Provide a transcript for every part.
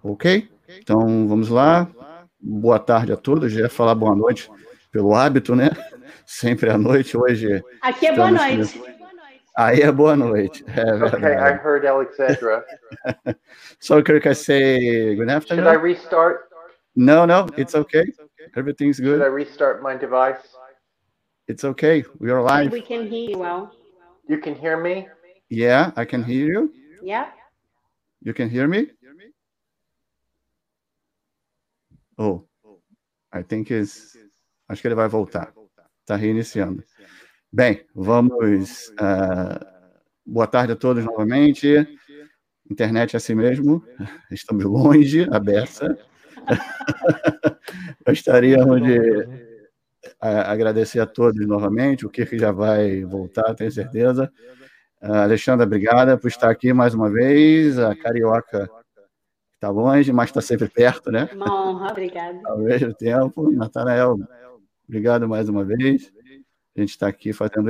Ok? Então, vamos lá. Boa tarde a todos. Já ia falar boa noite pelo hábito, né? Sempre à noite. Hoje aqui é boa noite. Aí é boa noite. É verdade. Okay, I heard Alexandra. So, Kirk, I say good afternoon. Should I restart? No, it's okay. Everything's good. Should I restart my device? It's okay. We are live. We can hear you well. You can hear me? Yeah, I can hear you. Yeah. You can hear me? Oh, I think acho que ele vai voltar. Está reiniciando. Bem, vamos... boa tarde a todos novamente. Internet é assim mesmo. Estamos longe, a beça. Gostaríamos de agradecer a todos novamente. O Kirk já vai voltar, tenho certeza. Alexandra, obrigada por estar aqui mais uma vez. A Carioca está longe, mas está sempre perto, né? Uma honra, obrigada. Ao mesmo tempo. Natanael, obrigado mais uma vez. A gente está aqui fazendo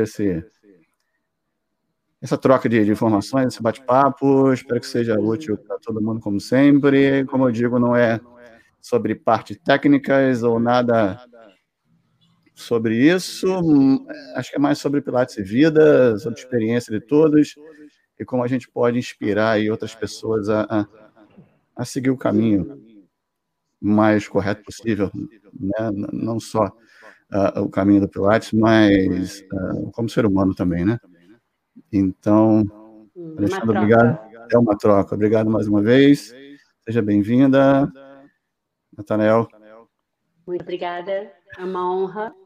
essa troca de informações, esse bate-papo. Espero que seja útil para todo mundo, como sempre. Como eu digo, não é sobre partes técnicas ou nada sobre isso. Acho que é mais sobre Pilates e vida, sobre a experiência de todos e como a gente pode inspirar aí outras pessoas a seguir o caminho mais correto possível, né? Não só o caminho do Pilates, mas como ser humano também, né? Então, Alexandre, obrigado. É uma troca. Obrigado mais uma vez. Seja bem-vinda. Natanael. Muito obrigada. É uma honra.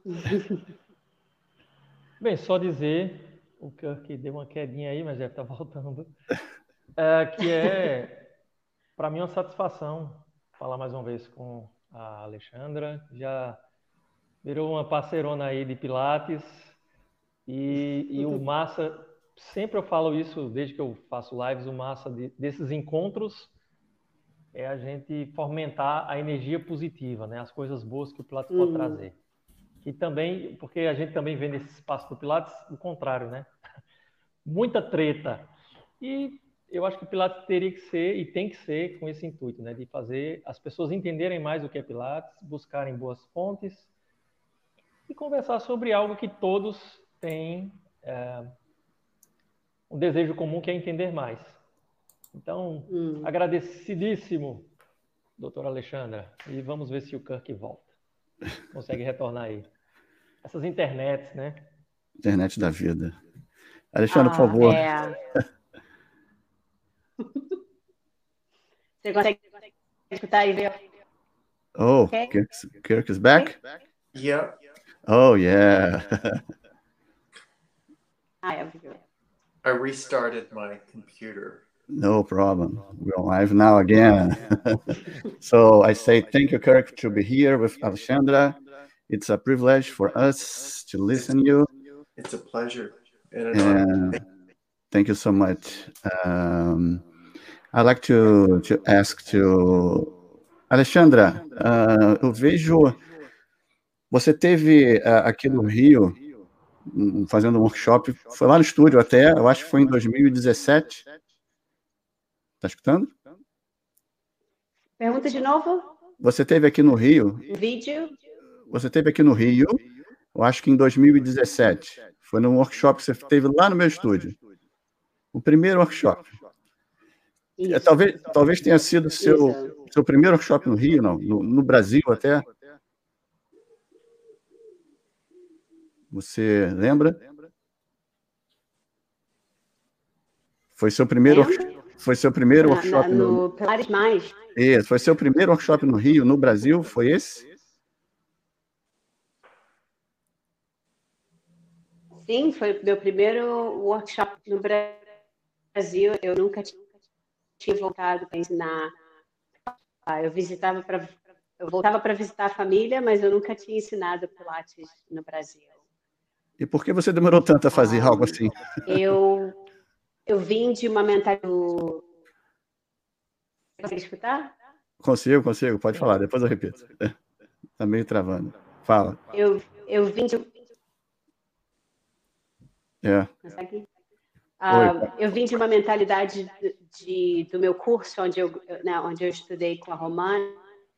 Bem, só dizer, o Kirk deu uma quedinha aí, mas deve estar voltando, que para mim, uma satisfação falar mais uma vez com a Alexandra. Já virou uma parceirona aí de Pilates e o massa, sempre eu falo isso desde que eu faço lives, o massa desses encontros é a gente fomentar a energia positiva, né? As coisas boas que o Pilates pode trazer. E também, porque a gente também vê nesse espaço do Pilates o contrário, né? Muita treta. E eu acho que o Pilates teria que ser, e tem que ser, com esse intuito, né? De fazer as pessoas entenderem mais o que é Pilates, buscarem boas fontes e conversar sobre algo que todos têm um desejo comum, que é entender mais. Então, agradecidíssimo, doutora Alexandra. E vamos ver se o Kirk volta. Consegue retornar aí. Essas internets, né? Internet da vida. Alexandre, por favor. Você consegue escutar e ver? Oh, okay. Kirk is back? Okay. Yeah. Oh, yeah. I restarted my computer. No problem. We're live now again. So I say thank you, Kirk, to be here with Alexandra. It's a privilege for us to listen to you. It's a pleasure. And thank you so much. I'd like to ask to Alexandra, eu vejo você teve aqui no Rio fazendo um workshop, foi lá no estúdio até, eu acho que foi em 2017. Tá escutando? Pergunta de novo. Você teve aqui no Rio? Vídeo. Você teve aqui no Rio, eu acho que em 2017. Foi num workshop que você teve lá no meu estúdio. O primeiro workshop. Talvez tenha sido seu primeiro workshop no Rio, não? No Brasil até. Você lembra? Foi seu primeiro workshop no Pilates Mais? Isso, foi seu primeiro workshop no Rio, no Brasil, foi esse? Sim, foi meu primeiro workshop no Brasil. Eu nunca tinha voltado para ensinar. Eu voltava para visitar a família, mas eu nunca tinha ensinado Pilates no Brasil. E por que você demorou tanto a fazer algo assim? Eu vim de uma mentalidade. Consegue escutar? Consigo, pode falar, depois eu repito. Está meio travando. Fala. Eu vim de. É. Eu vim de uma mentalidade do meu curso, onde eu estudei com a Romana,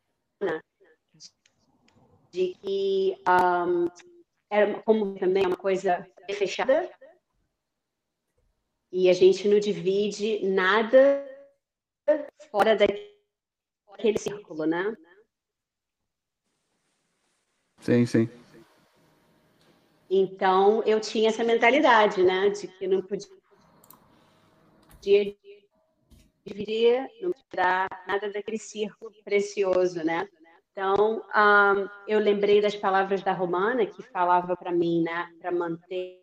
de que era como também uma coisa fechada, e a gente não divide nada fora daquele círculo, né? Sim, sim. Então, eu tinha essa mentalidade, né, de que não podia dividir, não tirar nada daquele círculo precioso, né? Então, eu lembrei das palavras da Romana, que falava para mim, né, para manter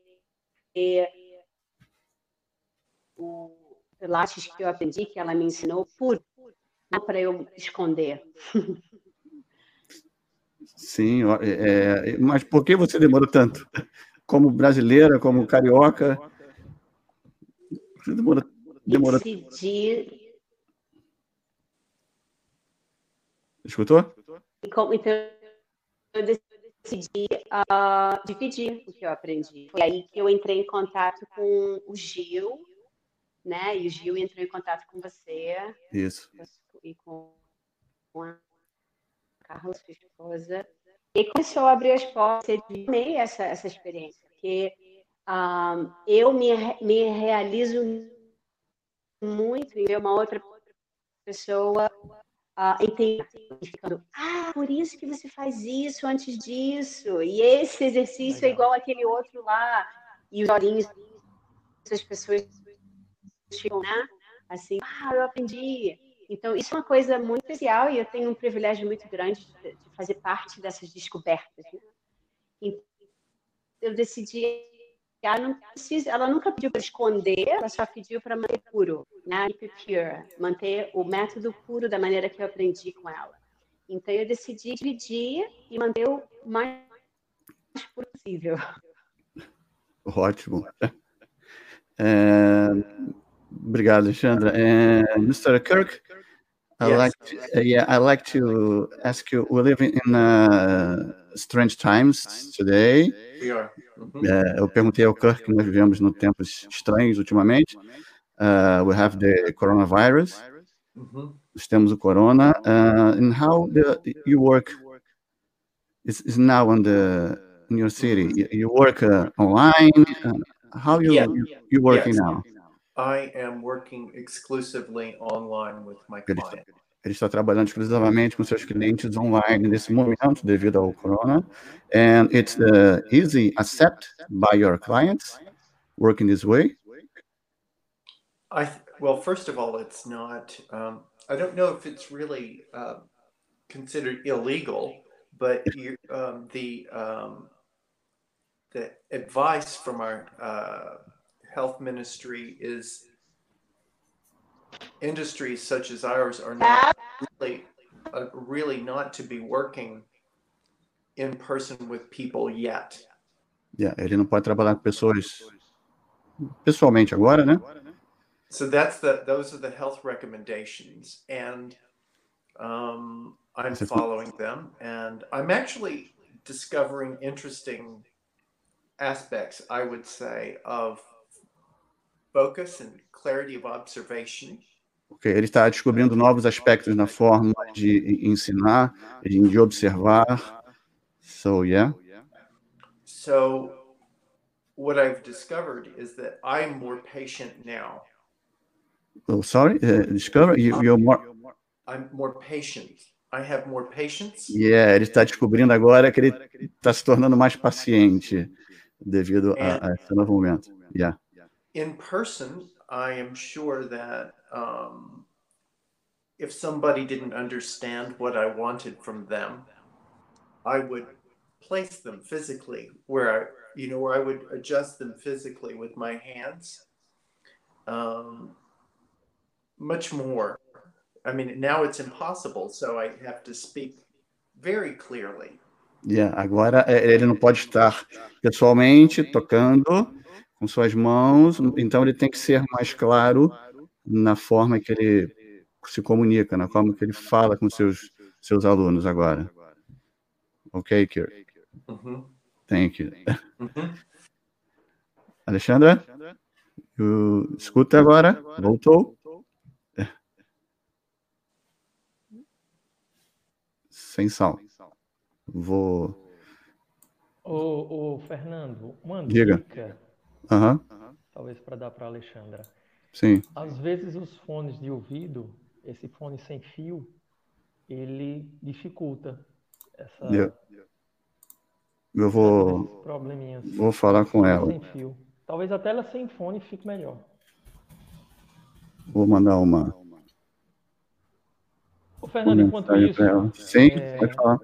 o Pilates que eu aprendi, que ela me ensinou, puro, não para eu esconder. Sim, mas por que você demorou tanto? Como brasileira, como carioca? Você demorou. Decidi. Escutou? Então, eu decidi dividir o que eu aprendi. Foi aí que eu entrei em contato com o Gil, né? E o Gil entrou em contato com você. Isso. E com a Carla, sua esposa. E começou a abrir as portas. Eu amei essa experiência, porque eu me realizo muito em ver uma outra pessoa entendendo. Por isso que você faz isso antes disso. E esse exercício é igual aquele outro lá. E os olhinhos das pessoas ficam, né? Assim, eu aprendi. Então, isso é uma coisa muito especial e eu tenho um privilégio muito grande de fazer parte dessas descobertas. Né? Então, eu decidi, ela nunca pediu para esconder, ela só pediu para manter puro, né? Keep it pure, manter o método puro da maneira que eu aprendi com ela. Então, eu decidi dividir e manter o mais puro possível. Ótimo. Obrigado, Alexandra. Mr. Kirk, Yes. I'd like to ask you, we're living in strange times today. We are. Eu perguntei ao Kirk que nós vivemos em tempos estranhos ultimamente. We have the coronavirus. Nós temos o corona. And how you work is now in your city? You work online? How you working now? I am working exclusively online with my client. Ele está trabalhando exclusivamente com seus clientes online nesse momento devido ao corona. And it's easy accept by your clients working this way? Well, first of all, it's not. I don't know if it's really considered illegal, but the advice from our health ministry is industries such as ours are not really not to be working in person with people yet. Ele não pode trabalhar com pessoas pessoalmente agora, né? So those are the health recommendations, and I'm following them, and I'm actually discovering interesting aspects, I would say, of focus and clarity of observation. Okay. Ele está descobrindo novos aspectos na forma de ensinar, de observar. So, yeah. So what I've discovered is that I'm more patient now. Oh, sorry, discover you're more. I'm more patient. I have more patience. Ele está descobrindo agora que ele está se tornando mais paciente devido a esse novo momento. In person, I am sure that if somebody didn't understand what I wanted from them, I would place them physically where I would adjust them physically with my hands. Much more. I mean, now it's impossible, so I have to speak very clearly. Agora ele não pode estar pessoalmente tocando com suas mãos, então ele tem que ser mais claro na forma que ele se comunica, na forma que ele fala com seus alunos agora. Ok, Kirk? Thank you. Alexandra, escuta agora? Voltou? sem sal. Vou... Ô, Fernando, uma Diga. dica, Aham, talvez para dar para a Alexandra. sim. Às vezes os fones de ouvido, esse fone sem fio, ele dificulta Eu esses vou probleminhas. falar com Tela ela. sem fio. Talvez a tela sem fone fique melhor. Vou mandar uma Ô, Fernando, enquanto mensagem isso, para ela. Sim, pode falar.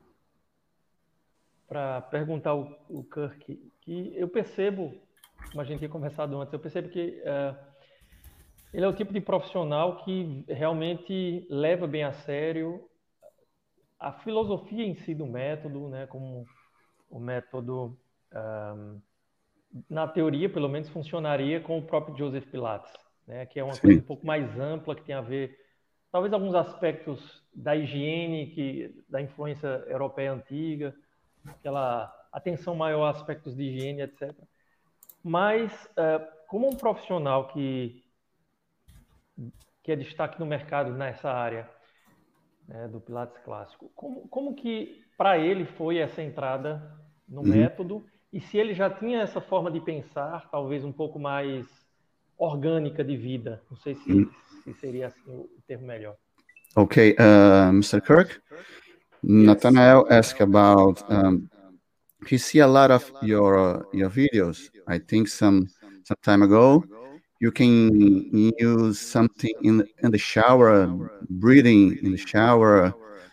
para perguntar o Kirk, que eu percebo, como a gente tinha conversado antes, eu percebo que ele é o tipo de profissional que realmente leva bem a sério a filosofia em si do método, né? Como o método, na teoria, pelo menos, funcionaria com o próprio Joseph Pilates, né? Que é uma coisa um pouco mais ampla, que tem a ver, talvez, alguns aspectos da higiene, da influência europeia antiga, aquela atenção maior a aspectos de higiene, etc. Mas, como um profissional que é destaque no mercado nessa área, né, do Pilates clássico, como que para ele foi essa entrada no método, e se ele já tinha essa forma de pensar, talvez um pouco mais orgânica de vida? Não sei se seria assim o termo melhor. Okay, Mr. Kirk, Nathanael asked about he see a lot of your videos. I think some time ago you can use something in the shower, breathing in the shower,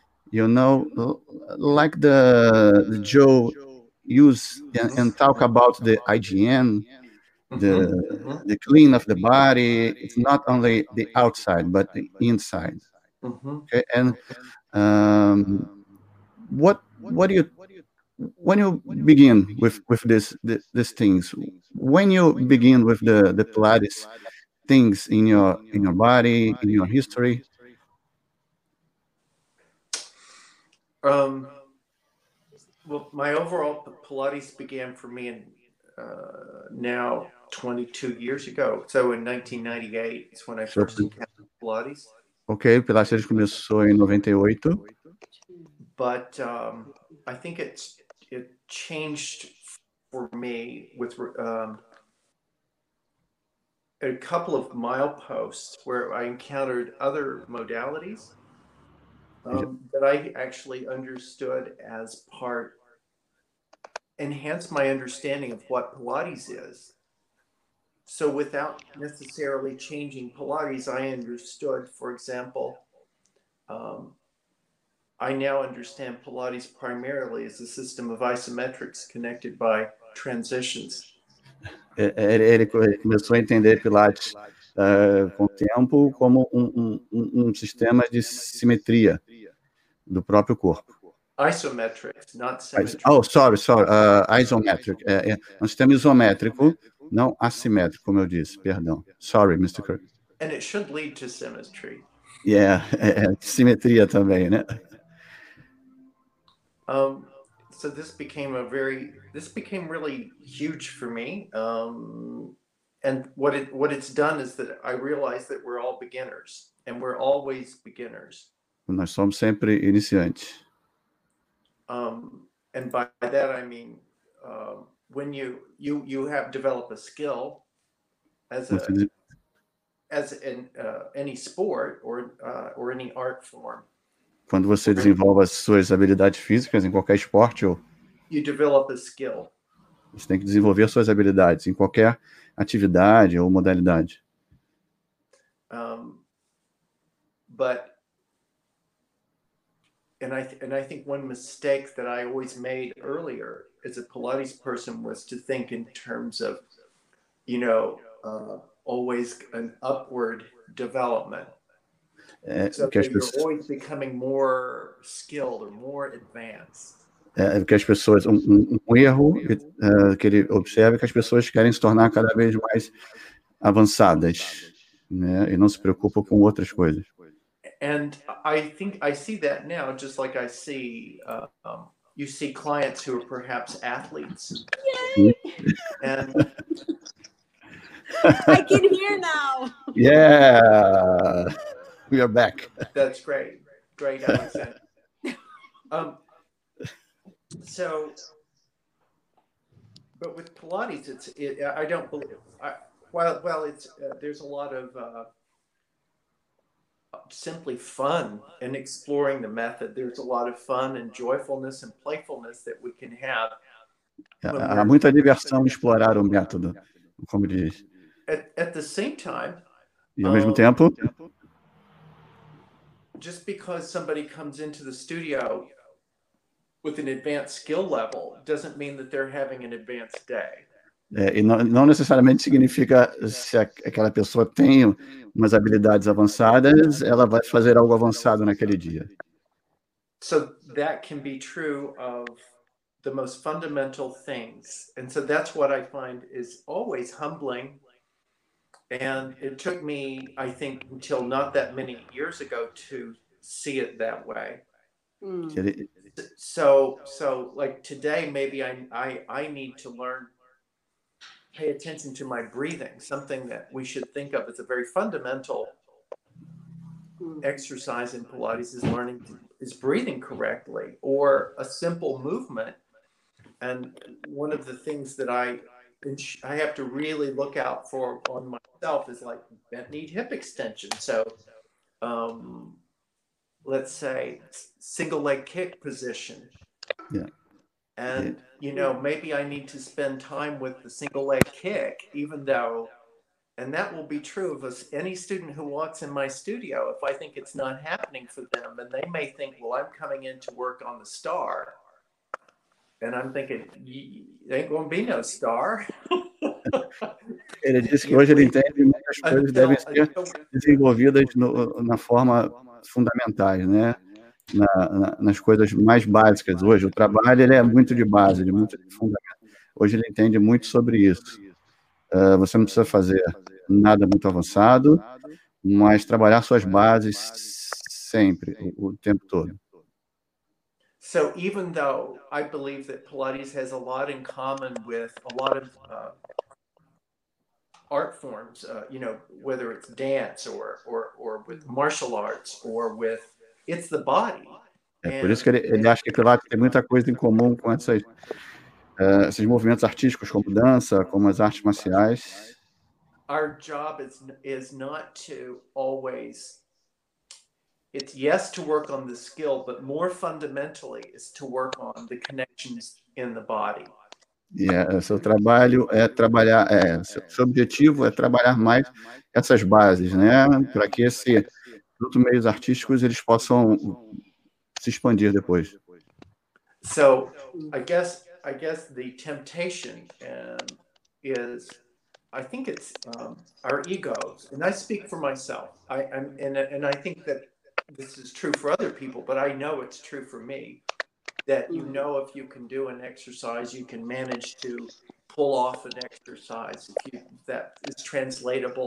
like the Joe use and talk about the hygiene, the clean of the body. It's not only the outside but the inside. Okay, and what do you, when you begin with these things, when you begin with the Pilates things in your body, in your history? Well, my overall Pilates began for me in now 22 years ago. So in 1998 is when I first encountered Pilates. Ok, o Pilates começou em 98. But I think it changed for me with a couple of mileposts where I encountered other modalities that I actually understood as enhanced my understanding of what Pilates is. So without necessarily changing Pilates, I understood, for example, I now understand Pilates primarily as a system of isometrics connected by transitions. Ele começou a entender Pilates com o tempo como sistema de simetria do próprio corpo. Isometrics, not symmetry. Oh, sorry. Isometric. É um sistema isométrico, não assimétrico, como eu disse. Perdão. Sorry, Mr. Kirk. And it should lead to symmetry. Yeah, simetria também, né? So this became really huge for me. And what it's done is that I realized that we're all beginners, and we're always beginners. Nós somos sempre iniciantes. And by that I mean when you have developed a skill as in any sport or any art form. Quando você desenvolve as suas habilidades físicas em qualquer esporte, you develop a skill. Você tem que desenvolver suas habilidades em qualquer atividade ou modalidade. And I think one mistake that I always made earlier as a Pilates person was to think in terms of, always an upward development. So that you're always becoming more skilled or more advanced. Que as pessoas, um erro que ele observa é que as pessoas querem se tornar cada vez mais avançadas, né? E não se preocupam com outras coisas. And I think I see that now, just like I see, you see clients who are perhaps athletes. Yay! And I can hear now. Yeah, we are back. That's great, Alexander. But with Pilates, I don't believe. There's a lot of simply fun in exploring the method. There's a lot of fun and joyfulness and playfulness that we can have. Há muita diversão em explorar o método, como diz. At the same time, e ao mesmo tempo, just because somebody comes into the studio with an advanced skill level doesn't mean that they're having an advanced day. E não necessariamente significa se aquela pessoa tem umas habilidades avançadas, ela vai fazer algo avançado naquele dia. So that can be true of the most fundamental things. And so that's what I find is always humbling. And it took me, I think, until not that many years ago to see it that way. So like today, maybe I need to learn, pay attention to my breathing, something that we should think of as a very fundamental exercise in Pilates is breathing correctly, or a simple movement. And one of the things that I have to really look out for on myself is like bent knee hip extension. So let's say single leg kick position. Yeah. And, maybe I need to spend time with the single leg kick, even though, and that will be true of any student who walks in my studio. If I think it's not happening for them, and they may think, well, I'm coming in to work on the star. And I'm thinking, there ain't going to be no star. Ele disse que hoje ele entende que muitas coisas devem ser desenvolvidas na forma fundamentais, né? Nas coisas mais básicas. Hoje o trabalho ele é muito de base, muito de fundamento. Hoje ele entende muito sobre isso. Você não precisa fazer nada muito avançado, mas trabalhar suas bases sempre, o tempo todo. So even though I believe that Pilates has a lot in common with a lot of art forms, whether it's dance or with martial arts or with, it's the body. Por isso que ele acha que Pilates tem muita coisa em comum com esses movimentos artísticos, como dança, como as artes marciais. Our job is not to always, it's yes to work on the skill, but more fundamentally is to work on the connections in the body. Seu trabalho é trabalhar, seu objetivo é trabalhar mais essas bases, né? Para que esses outros meios artísticos eles possam se expandir depois. So I guess the temptation is, I think it's our egos, and I speak for myself. And I think that this is true for other people, but I know it's true for me. That if you can do an exercise, you can manage to pull off an exercise. If that is translatable,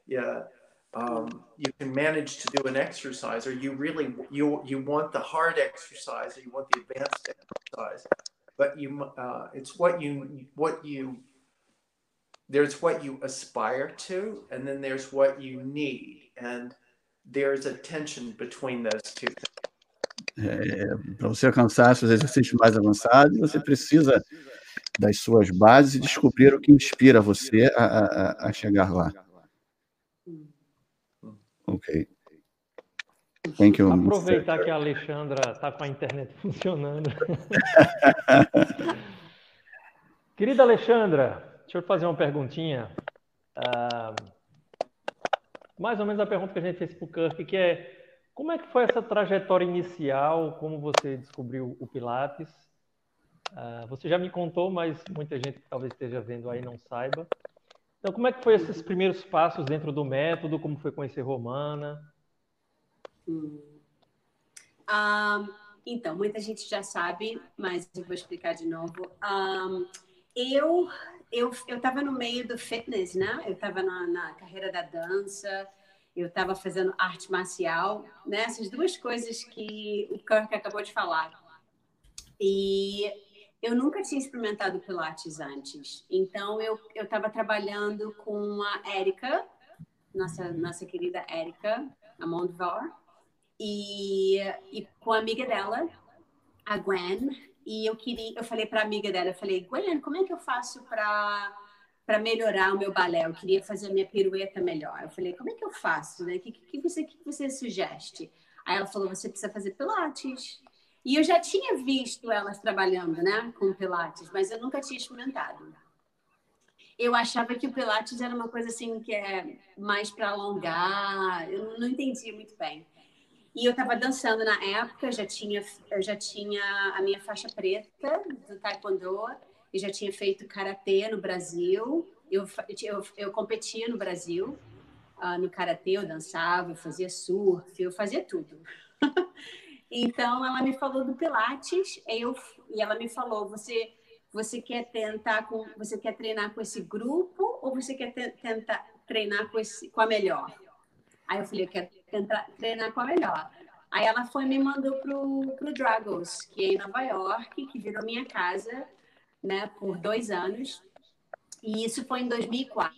you can manage to do an exercise, or you really you want the hard exercise, or you want the advanced exercise. But it's there's what you aspire to, and then there's what you need, and there's a tension between those two things. Para você alcançar seus exercícios mais avançados, você precisa das suas bases e descobrir o que inspira você a chegar lá. Ok. Thank you. Aproveitar que a Alexandra está com a internet funcionando. Querida Alexandra, deixa eu fazer uma perguntinha. Mais ou menos a pergunta que a gente fez para o Kirk, que é: como é que foi essa trajetória inicial? Como você descobriu o Pilates? Você já me contou, mas muita gente que talvez esteja vendo aí não saiba. Então, como é que foi esses primeiros passos dentro do método? Como foi conhecer Romana? Então, muita gente já sabe, mas eu vou explicar de novo. Eu estava no meio do fitness, né? Eu estava na carreira da dança, eu estava fazendo arte marcial, né? Essas duas coisas que o Kirk acabou de falar. E eu nunca tinha experimentado Pilates antes. Então, eu estava trabalhando com a Érica, nossa querida Érica Amondvar, e com a amiga dela, a Gwen, e eu falei para a amiga dela, eu falei, Gwen, como é que eu faço para melhorar o meu balé? Eu queria fazer a minha pirueta melhor. Eu falei, como é que eu faço? Né? O que você sugere? Aí ela falou, você precisa fazer pilates. E eu já tinha visto elas trabalhando, né, com pilates, mas eu nunca tinha experimentado. Eu achava que o pilates era uma coisa assim que é mais para alongar. Eu não entendia muito bem. E eu estava dançando na época, eu já tinha a minha faixa preta do taekwondo, eu já tinha feito karatê no Brasil, eu competia no Brasil, no karatê, eu dançava, eu fazia surf, eu fazia tudo. Então, ela me falou do Pilates, e ela me falou, você quer você quer treinar com esse grupo ou você quer tentar treinar com a melhor? Aí eu falei, eu quero tentar treinar com a melhor. Aí ela me mandou pro Dragos, que é em Nova York, que virou minha casa, né, por 2 anos. E isso foi em 2004.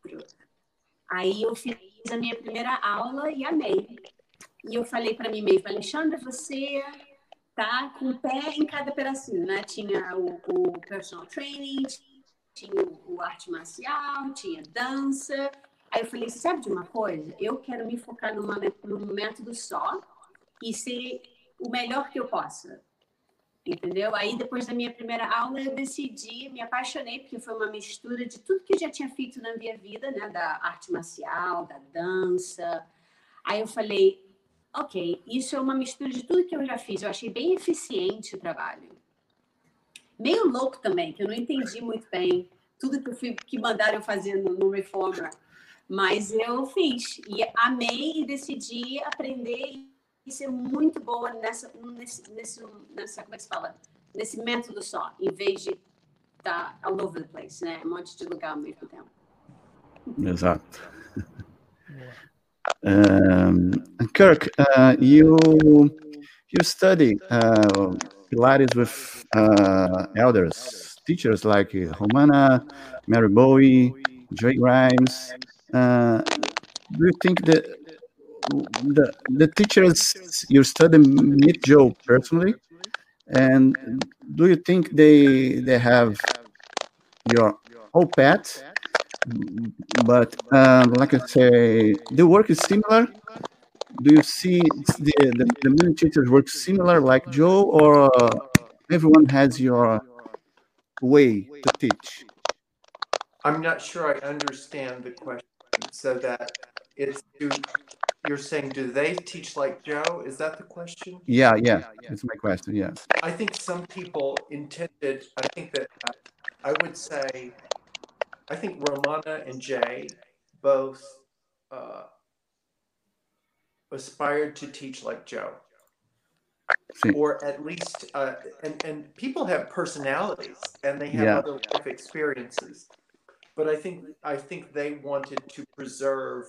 Aí eu fiz a minha primeira aula e amei. E eu falei para mim mesma, Alexandra, você tá com o pé em cada pedacinho, né? Tinha o personal training, tinha o arte marcial, tinha dança. Aí eu falei, sabe de uma coisa? Eu quero me focar num método só e ser o melhor que eu possa. Entendeu? Aí, depois da minha primeira aula, eu decidi, me apaixonei, porque foi uma mistura de tudo que eu já tinha feito na minha vida, né? Da arte marcial, da dança. Aí eu falei, ok, isso é uma mistura de tudo que eu já fiz. Eu achei bem eficiente o trabalho. Meio louco também, que eu não entendi muito bem tudo que mandaram eu fazer no Reformer. Mas eu fiz e amei e decidi aprender e ser muito boa nessa como é que se fala? Nesse método só, em vez de estar all over the place, né? Um monte de lugar ao mesmo tempo. Exato. Kirk, you study Pilates with elders, teachers like Romana, Mary Bowie, Joy Grimes. Do you think that the teachers you study meet Joe personally, and do you think they have your whole path? But like I say, the work is similar. Do you see the many teachers work similar like Joe, or everyone has your way to teach? I'm not sure I understand the question. So that you're saying, do they teach like Joe? Is that the question? Yeah, that's my question. Yeah. I think some people intended. I think that I would say, I think Romana and Jay both aspired to teach like Joe. Or at least, and people have personalities and they have other life experiences. But I think they wanted to preserve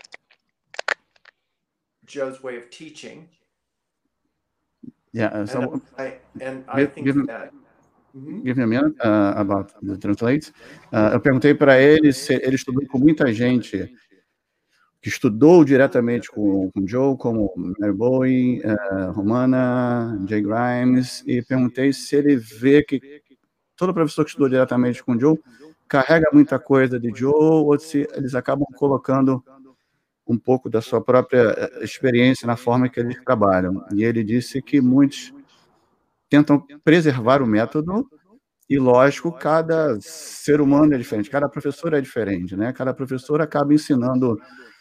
Joe's way of teaching. Yeah. So I think that. Give me a minute about the translate. Eu perguntei para ele se ele estudou com muita gente que estudou diretamente com Joe, como Mary Bowie, Romana, Jay Grimes, e perguntei se ele vê que todo professor que estudou diretamente com Joe carrega muita coisa de Joe, ou se eles acabam colocando um pouco da sua própria experiência na forma que eles trabalham. E ele disse que muitos tentam preservar o método, e lógico, cada ser humano é diferente, cada professor é diferente, né? Cada professor acaba ensinando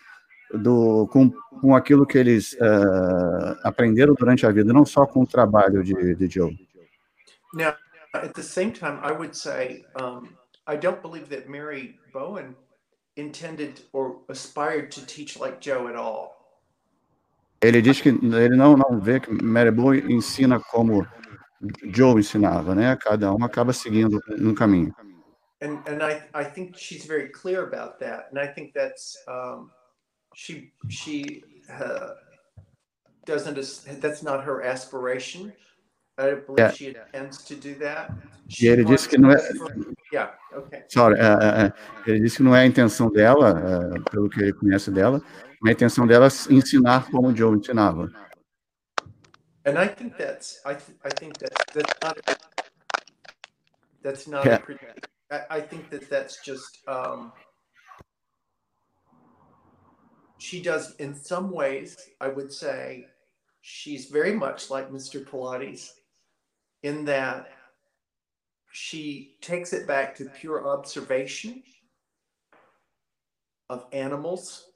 com aquilo que eles aprenderam durante a vida, não só com o trabalho de Joe. Now, at the same time, I would say, I don't believe that Mary Bowen intended or aspired to teach like Joe at all. Ele diz que ele não vê que Mary Bowen ensina como Joe ensinava, né? Cada um acaba seguindo um caminho. And I think she's very clear about that, and I think that's she doesn't. That's not her aspiration. I believe she intends to do that. E ele disse que não é. Okay. Sorry, ele disse que não é a intenção dela, pelo que ele conhece dela, mas a intenção dela é ensinar como o Joe ensinava. And I think that's not Yeah. I think that's just she does, in some ways, I would say she's very much like Mr. Pilates in that she takes it back to pure observation of animals,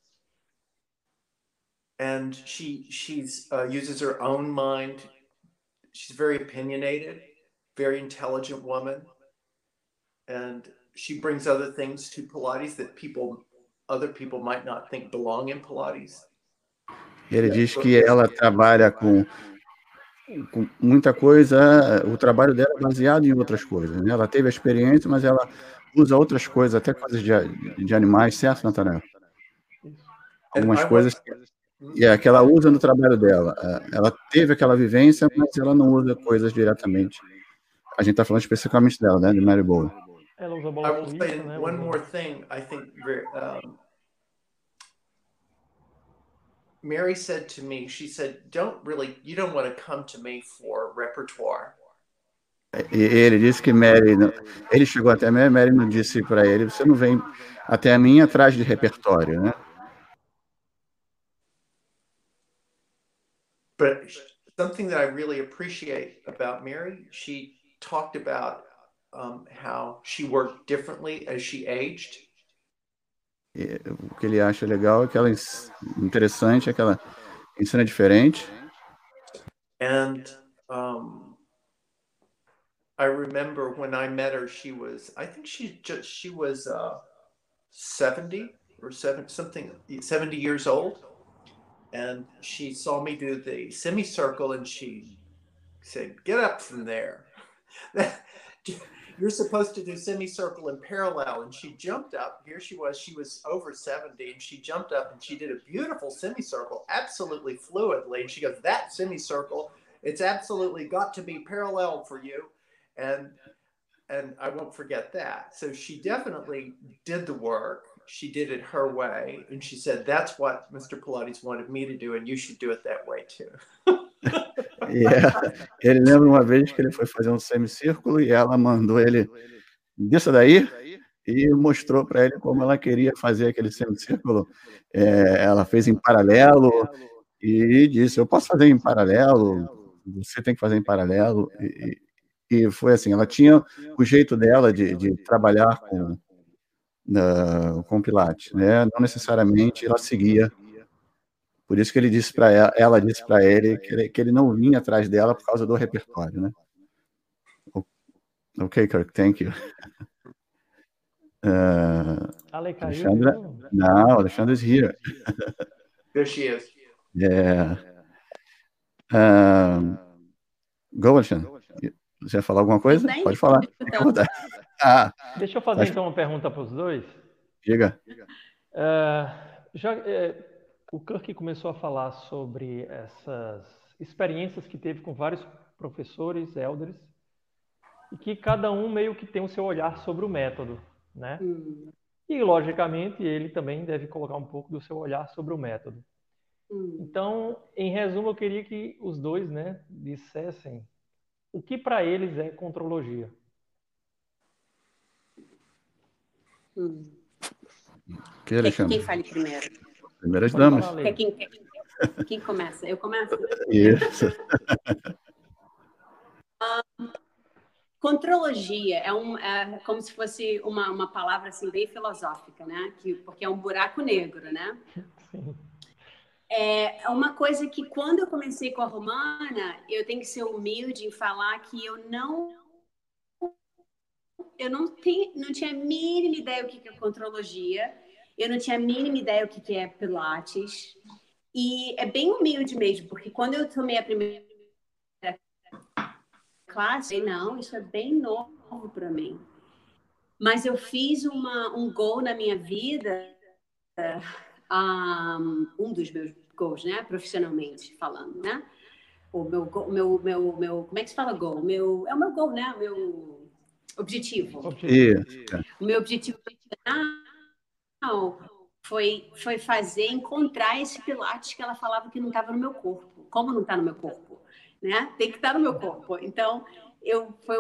and she uses her own mind. She's very opinionated, very intelligent woman, and she brings other things to Pilates that other people might not think belong in Pilates. Ele diz que ela trabalha com muita coisa, o trabalho dela é baseado em outras coisas, né? Ela teve a experiência, mas ela usa outras coisas, até coisas de animais, certo, Natanael? Algumas coisas que ela usa no trabalho dela. Ela teve aquela vivência, mas ela não usa coisas diretamente. A gente está falando especificamente dela, né? De Mary Bowen. Ela usa I bola will suíça, say né? one more thing. I think Mary said to me, she said, you don't want to come to me for repertoire. E ele disse que Mary, ele chegou até Mary não disse para ele, você não vem até a mim atrás de repertório, né? But something that I really appreciate about Mary, she talked about how she worked differently as she aged. E o que ele acha legal é que ela interessante é que ela ensina diferente. And I remember when I met her, she was 70 or 70 years old. And she saw me do the semicircle and she said, "Get up from there. You're supposed to do semicircle in parallel." And she jumped up. Here she was over 70, and she jumped up and she did a beautiful semicircle, absolutely fluidly. And she goes, "That semicircle, it's absolutely got to be parallel for you." And I won't forget that. So she definitely did the work. She did it her way. And she said, "That's what Mr. Pilates wanted me to do, and you should do it that way too." Ele lembra uma vez que ele foi fazer um semicírculo e ela mandou ele desça daí e mostrou para ele como ela queria fazer aquele semicírculo. Ela fez em paralelo e disse, eu posso fazer em paralelo, você tem que fazer em paralelo. E foi assim, ela tinha o jeito dela de trabalhar com Pilates, né? Não necessariamente ela seguia. Por isso que ele disse para ela disse para ele que ele não vinha atrás dela por causa do repertório, né? Ok, Kirk, thank you. Alexandra? No, Alexandra is here. There she is. Yeah. Go, Alexandra. Você ia falar alguma coisa? Pode falar. Deixa eu fazer então uma pergunta para os dois. Diga. O Kirk começou a falar sobre essas experiências que teve com vários professores, elders, e que cada um meio que tem o seu olhar sobre o método, né? E, logicamente, ele também deve colocar um pouco do seu olhar sobre o método. Então, em resumo, eu queria que os dois, né, dissessem o que para eles é contrologia. Quem fale primeiro? Primeiras damas. Quem começa? Eu começo? Isso. Contrologia é como se fosse uma palavra assim, bem filosófica, né? Porque é um buraco negro, né? Sim. É uma coisa que quando eu comecei com a Romana, eu tenho que ser humilde em falar que eu não tinha a mínima ideia o que é contrologia, eu não tinha a mínima ideia o que é Pilates, e é bem humilde mesmo, porque quando eu tomei a primeira classe, não, isso é bem novo para mim. Mas eu fiz um goal na minha vida, um dos meus goals, né, profissionalmente falando, né? O meu como é que se fala goal? É o meu goal, né? O meu objetivo. O meu objetivo foi encontrar esse Pilates que ela falava que não estava no meu corpo. Como não está no meu corpo? né? Tem que estar no meu corpo. Então, foi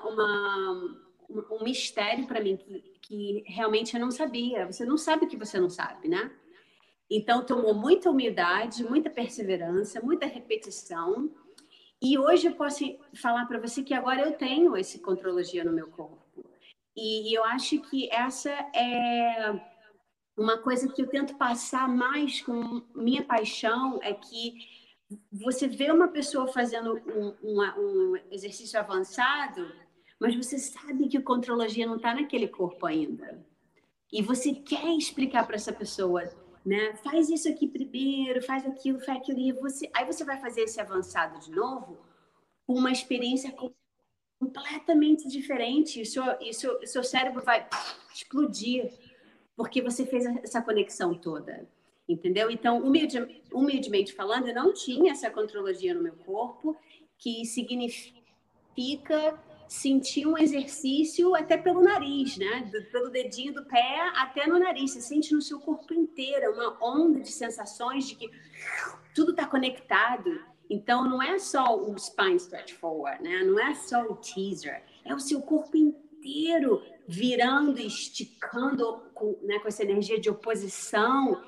um mistério para mim que realmente eu não sabia. Você não sabe o que você não sabe, né? Então, tomou muita humildade, muita perseverança, muita repetição. E hoje eu posso falar para você que agora eu tenho esse contrologia no meu corpo. E eu acho que essa é uma coisa que eu tento passar mais com minha paixão, é que você vê uma pessoa fazendo um exercício avançado, mas você sabe que o contrologia não está naquele corpo ainda. E você quer explicar para essa pessoa, né? Faz isso aqui primeiro, faz aquilo, e aí você vai fazer esse avançado de novo com uma experiência completamente diferente. O seu cérebro vai explodir porque você fez essa conexão toda. Entendeu? Então, humildemente falando, eu não tinha essa contrologia no meu corpo, que significa sentir um exercício até pelo nariz, né? Pelo dedinho do pé até no nariz. Você sente no seu corpo inteiro uma onda de sensações de que tudo está conectado. Então, não é só o spine stretch forward, né? Não é só o teaser. É o seu corpo inteiro virando, esticando com essa energia de oposição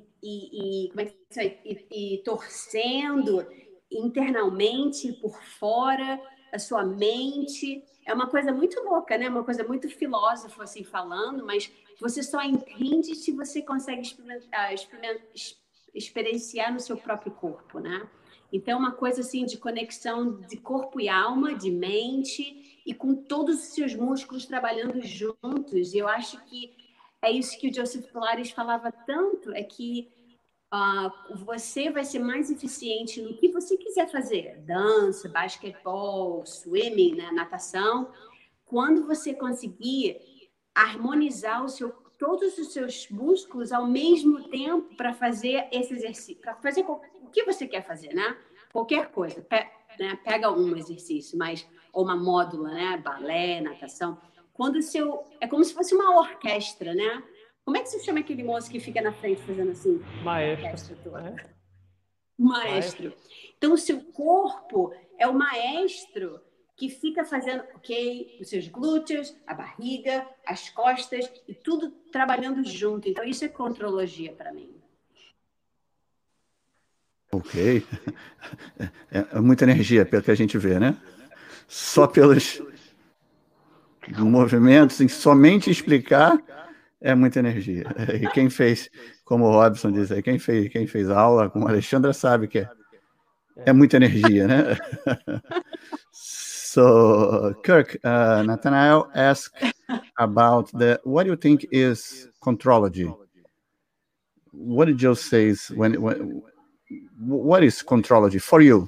e torcendo internamente por fora, a sua mente. É uma coisa muito louca, né? Uma coisa muito filósofo, assim, falando, mas você só entende se você consegue experienciar no seu próprio corpo, né? Então, uma coisa assim de conexão de corpo e alma, de mente, e com todos os seus músculos trabalhando juntos. E eu acho que é isso que o Joseph Pilates falava tanto, é que você vai ser mais eficiente no que você quiser fazer, dança, basquetebol, swimming, né, natação, quando você conseguir harmonizar todos os seus músculos ao mesmo tempo para fazer esse exercício, para fazer o que você quer fazer, né? Qualquer coisa, né? Pega um exercício, ou uma módula, né? Balé, natação. É como se fosse uma orquestra, né? Como é que se chama aquele moço que fica na frente fazendo assim? Maestro. Maestro. Então, o seu corpo é o maestro que fica fazendo, os seus glúteos, a barriga, as costas, e tudo trabalhando junto. Então, isso é contrologia para mim. Ok. É muita energia, pelo que a gente vê, né? Só pelos movimentos, somente explicar é muita energia. E quem fez, como o Robson diz aí, quem fez aula com a Alexandra sabe que é muita energia, né? So, Kirk, Nathanael asked about what do you think is contrology? What did you say what is contrology for you?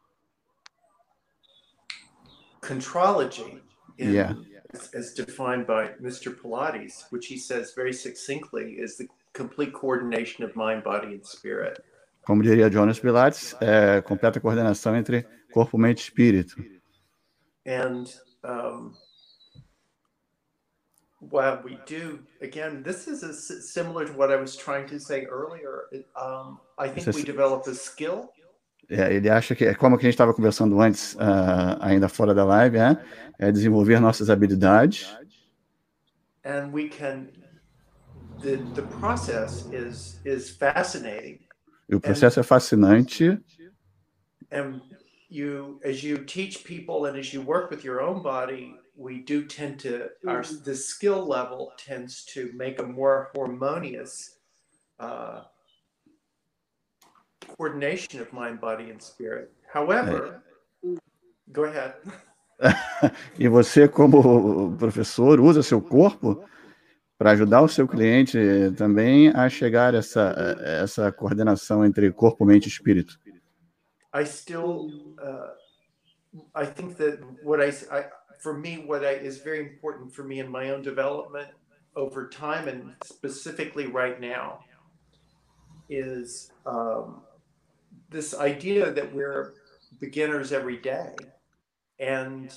Contrology, Yeah. as defined by Mr. Pilates, which he says very succinctly, is the complete coordination of mind, body, and spirit. Como diria Jonas Pilates, é completa coordenação entre corpo, mente e espírito. And while we do, again, this is similar to what I was trying to say earlier. I think we develop a skill. Ele acha que é como que a gente estava conversando antes, ainda fora da live, é desenvolver nossas habilidades. And we can. The process is fascinating. E o processo é fascinante. And as you teach people and as you work with your own body, we do tend to the skill level tends to make a more harmonious coordination of mind, body, and spirit. However, go ahead. E você, como professor, usa seu corpo para ajudar o seu cliente também a chegar a essa coordenação entre corpo, mente e espírito. I think that for me, what is very important for me in my own development over time, and specifically right now, is this idea that we're beginners every day, and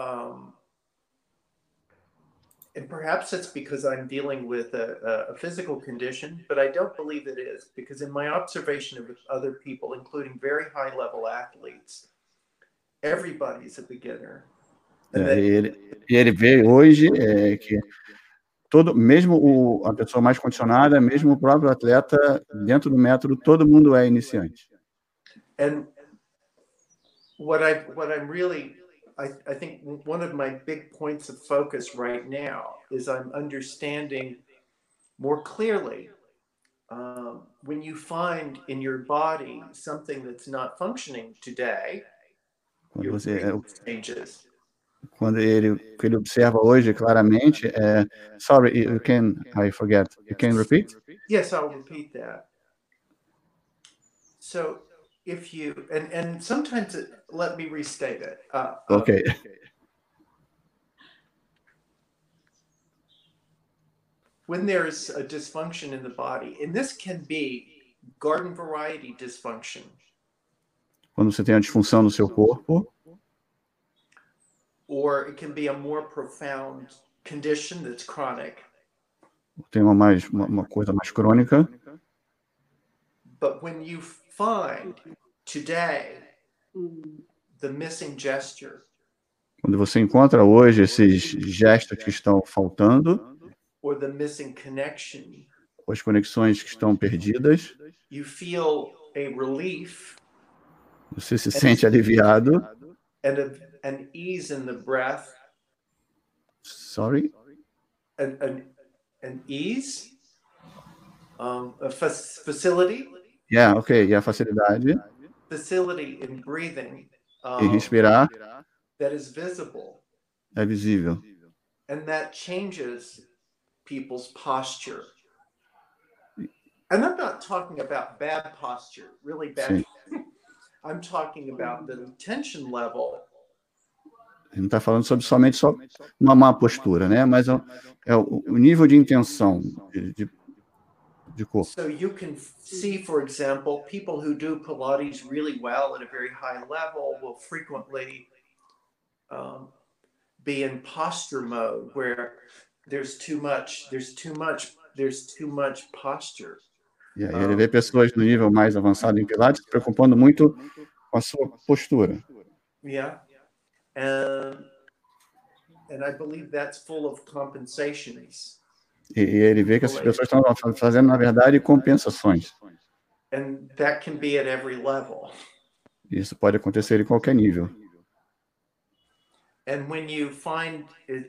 perhaps it's because I'm dealing with a physical condition, but I don't believe it is, because in my observation of other people, including very high-level athletes, everybody's a beginner. E ele vê hoje que mesmo a pessoa mais condicionada, mesmo o próprio atleta, dentro do método, todo mundo é iniciante. And what I'm really, I think one of my big points of focus right now is I'm understanding more clearly when you find in your body something that's not functioning today, your breathing changes. Quando ele observa hoje claramente, sorry, I forget. You can repeat? Yes, I'll repeat that. So if you, and sometimes let me restate it. Okay. When there's a dysfunction in the body, and this can be garden variety dysfunction. Quando você tem uma disfunção no seu corpo, or it can be a more profound condition that's chronic. Tem uma coisa mais crônica. But when you find today the missing gesture, quando você encontra hoje esses gestos que estão faltando, or the missing connection, ou as conexões que estão perdidas, you feel a relief. Você se sente aliviado. And ease in the breath. Sorry? An ease, a facility. Yeah, okay. E a facilidade. Facility in breathing. E respirar. That is visible. É visível. And that changes people's posture. And I'm not talking about bad posture, really bad. I'm talking about the tension level. Ele não está falando somente só uma má postura, né? Mas é o nível de intenção de corpo. So you can see, for example, people who do Pilates really well at a very high level will frequently be in posture mode, where there's too much posture. E aí ele vê pessoas no nível mais avançado em Pilates se preocupando muito com a sua postura. Yeah. And I believe that's full of compensations. E ele vê que essas pessoas estão fazendo, na verdade, compensações. And that can be at every level. Isso pode acontecer em qualquer nível. And when you find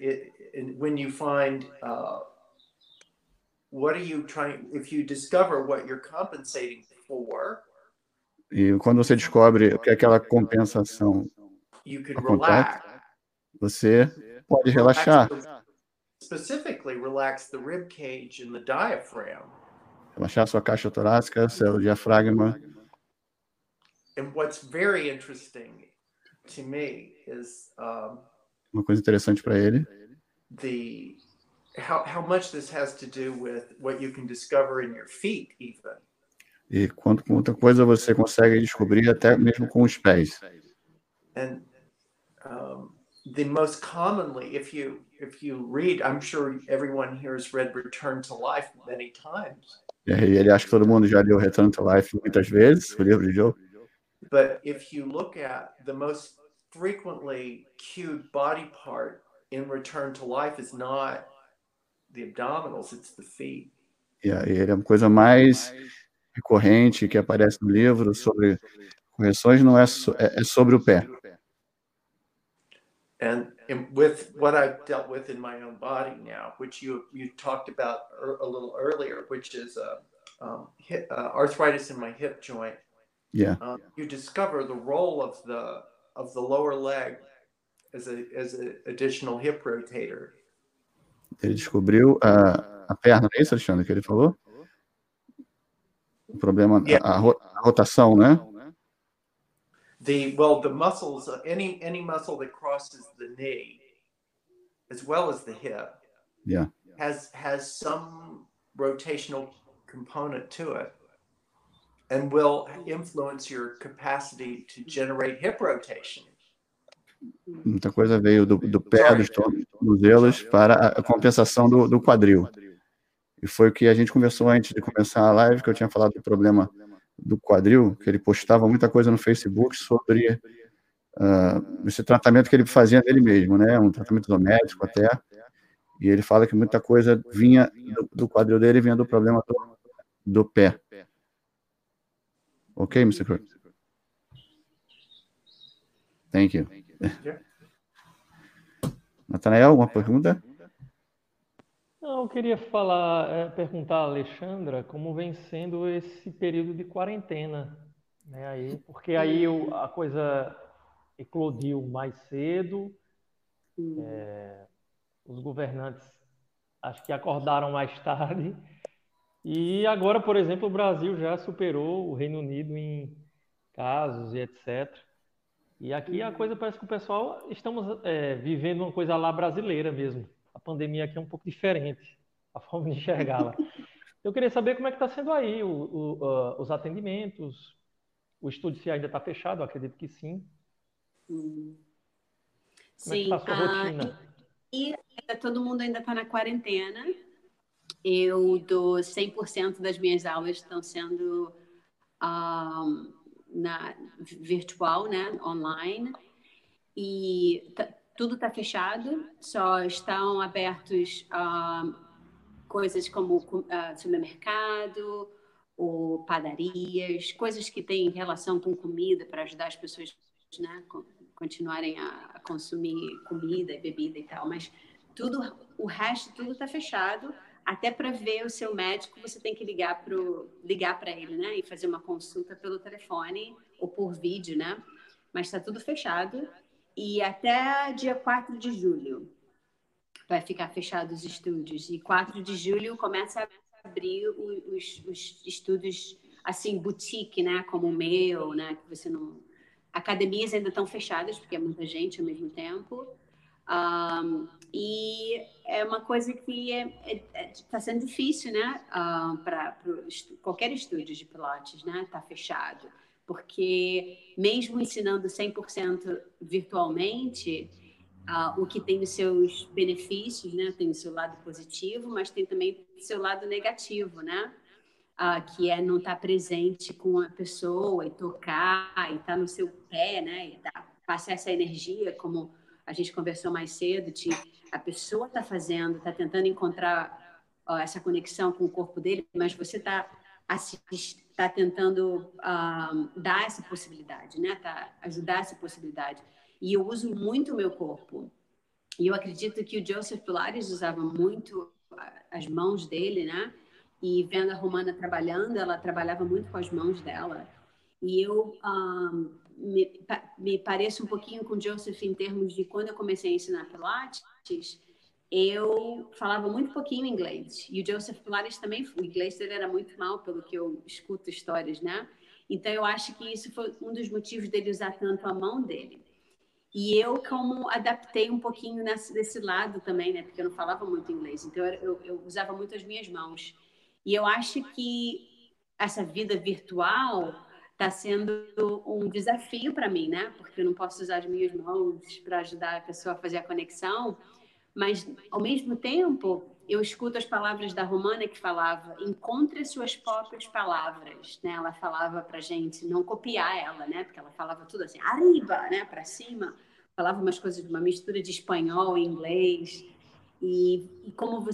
what are you trying, if you discover what you're compensating for, e quando você descobre o que é aquela compensação acontece, você pode relaxar. Specifically, relax the rib cage and the diaphragm. Relaxar sua caixa torácica, seu diafragma. And what's very interesting to me is uma coisa interessante para ele. How much this has to do with what you can discover in your feet, even. E quanta coisa você consegue descobrir até mesmo com os pés. And the most commonly, if you read, I'm sure everyone here has read Return to Life many times. E ele acha que todo mundo já leu Return to Life muitas vezes, o livro de Joe. But if you look at the most frequently cued body part in Return to Life is not the abdominals, it's the feet. E ele é uma coisa mais recorrente que aparece no livro sobre correções, não é sobre o pé. And with what I've dealt with in my own body now, which you talked about a little earlier, which is arthritis in my hip joint. Yeah. You discover the role of the lower leg as an additional hip rotator. Ele descobriu a perna, é isso, Alexandre, que ele falou? O problema, a rotação, né? The muscles, any muscle that crosses the knee, as well as the hip, yeah, has some rotational component to it, and will influence your capacity to generate hip rotation. Muita coisa veio do pé, dos tornozelos, para a compensação do quadril. E foi o que a gente conversou antes de começar a live, que eu tinha falado do problema do quadril, que ele postava muita coisa no Facebook sobre esse tratamento que ele fazia nele mesmo, né? Um tratamento doméstico até. E ele fala que muita coisa vinha do quadril dele, vinha do problema do pé. Ok, Mr. Kirk? Thank you. Nathanael, alguma pergunta? Não, eu queria perguntar a Alexandra como vem sendo esse período de quarentena, né? Aí, porque aí a coisa eclodiu mais cedo, os governantes acho que acordaram mais tarde, e agora, por exemplo, o Brasil já superou o Reino Unido em casos e etc. E aqui a coisa parece que o pessoal estamos vivendo uma coisa lá brasileira mesmo. A pandemia aqui é um pouco diferente, a forma de enxergá-la. Eu queria saber como é que está sendo aí os atendimentos. O estúdio se ainda está fechado, eu acredito que sim. Como é que está a sua rotina? E todo mundo ainda está na quarentena. Eu dou 100% das minhas aulas estão sendo virtual, né, online. E tudo está fechado, só estão abertos coisas como supermercado ou padarias, coisas que têm relação com comida para ajudar as pessoas, né, continuarem a consumir comida e bebida e tal, mas o resto tudo está fechado. Até para ver o seu médico, você tem que ligar para ele, né, e fazer uma consulta pelo telefone ou por vídeo, né? Mas está tudo fechado. E até dia 4 de julho vai ficar fechado os estúdios. E 4 de julho começa a abrir os estúdios, assim, boutique, né? Como o meu, né? Que você não... Academias ainda estão fechadas, porque é muita gente ao mesmo tempo. E é uma coisa que está sendo difícil, né? Para qualquer estúdio de Pilates, né? Está fechado. Porque mesmo ensinando 100% virtualmente, o que tem os seus benefícios, né? Tem o seu lado positivo, mas tem também o seu lado negativo, né? Que é não estar presente com a pessoa e tocar e estar no seu pé, né? E passar essa energia, como a gente conversou mais cedo, a pessoa está tentando encontrar essa conexão com o corpo dele, mas você está tentando dar essa possibilidade, né? Ajudar essa possibilidade. E eu uso muito o meu corpo. E eu acredito que o Joseph Pilates usava muito as mãos dele, né? E vendo a Romana trabalhando, ela trabalhava muito com as mãos dela. E eu me pareço um pouquinho com o Joseph em termos de quando eu comecei a ensinar Pilates, eu falava muito pouquinho inglês. E o Joseph Pilates também, o inglês dele era muito mal, pelo que eu escuto histórias, né? Então, eu acho que isso foi um dos motivos dele usar tanto a mão dele. E eu, como adaptei um pouquinho desse lado também, né? Porque eu não falava muito inglês. Então, eu usava muito as minhas mãos. E eu acho que essa vida virtual está sendo um desafio para mim, né? Porque eu não posso usar as minhas mãos para ajudar a pessoa a fazer a conexão. Mas, ao mesmo tempo, eu escuto as palavras da Romana que falava, encontre suas próprias palavras, né? Ela falava pra gente não copiar ela, né? Porque ela falava tudo assim, arriba, né? Para cima. Falava umas coisas, uma mistura de espanhol e inglês. E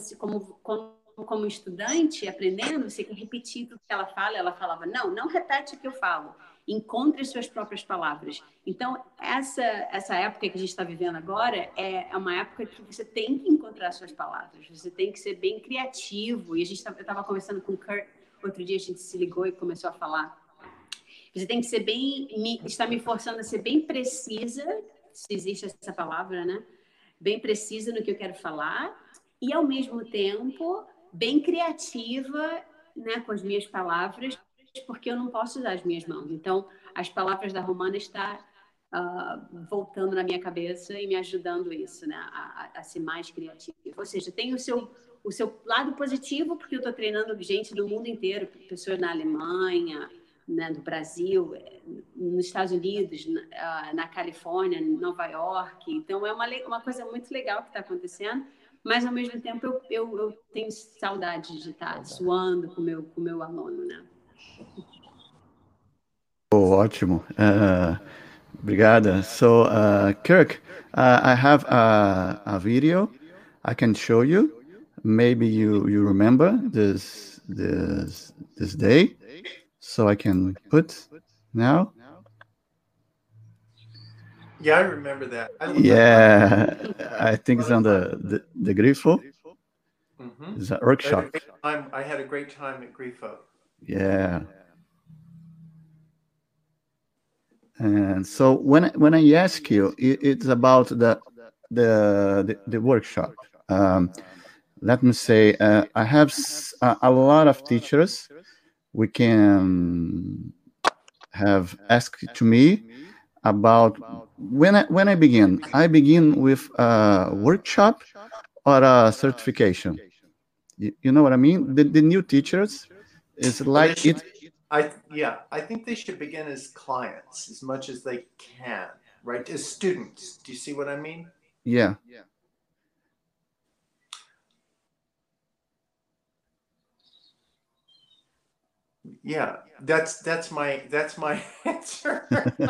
como estudante, aprendendo, você quer repetir tudo que ela fala. Ela falava, não repete o que eu falo. Encontre suas próprias palavras. Então, essa época que a gente está vivendo agora é uma época que você tem que encontrar suas palavras. Você tem que ser bem criativo. E eu estava conversando com o Kurt outro dia, a gente se ligou e começou a falar. Você tem que ser está me forçando a ser bem precisa, se existe essa palavra, né? Bem precisa no que eu quero falar. E, ao mesmo tempo, bem criativa, né, com as minhas palavras, porque eu não posso usar as minhas mãos. Então, as palavras da Romana estão voltando na minha cabeça e me ajudando isso, né, a ser mais criativa. Ou seja, tem o seu lado positivo, porque eu estou treinando gente do mundo inteiro, pessoas na Alemanha, né, no Brasil, nos Estados Unidos, na Califórnia, em Nova York. Então, é uma coisa muito legal que está acontecendo. Mas, ao mesmo tempo, eu tenho saudade de estar suando com o meu aluno, né? Ótimo. Obrigada. So, Kirk, I have a video I can show you. Maybe you remember this day. So I can put now. Yeah, I remember that. I think it's on the Grifo. Mm-hmm. It's a workshop. I had a great time at Grifo. Yeah. And so when I ask you, it's about the workshop. Let me say, I have a lot of teachers. We can have asked to me about when I begin. I begin with a workshop or a certification. You know what I mean? The new teachers is like it. I think they should begin as clients as much as they can, right? As students. Do you see what I mean? Yeah. Yeah, that's my answer.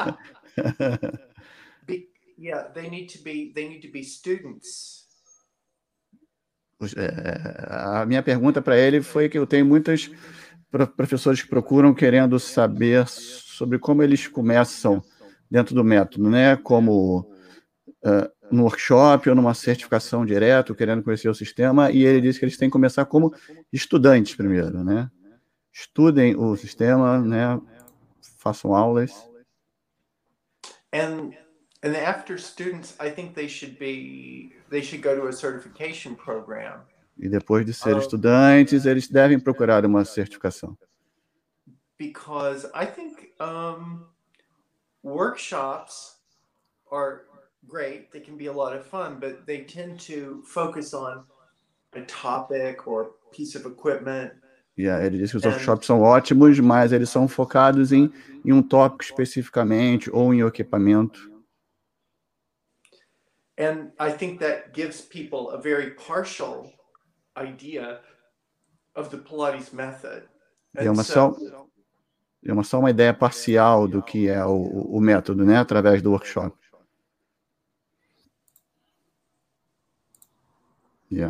Yeah, they need to be students. A minha pergunta para ele foi que eu tenho muitos professores que procuram querendo saber sobre como eles começam dentro do método, né? Como no workshop ou numa certificação direto, querendo conhecer o sistema, e ele disse que eles têm que começar como estudantes primeiro, né? Estudem o sistema, né? Façam aulas. And after students, I think they should go to a certification program. E depois de ser estudantes, eles devem procurar uma certificação. Because I think workshops are great. They can be a lot of fun, but they tend to focus on a topic or piece of equipment. Ele disse que os workshops são ótimos, mas eles são focados em um tópico especificamente ou em equipamento. And I think that gives people a very partial idea of the Pilates method. É só uma ideia parcial do que é o método, né, através do workshop. Yeah.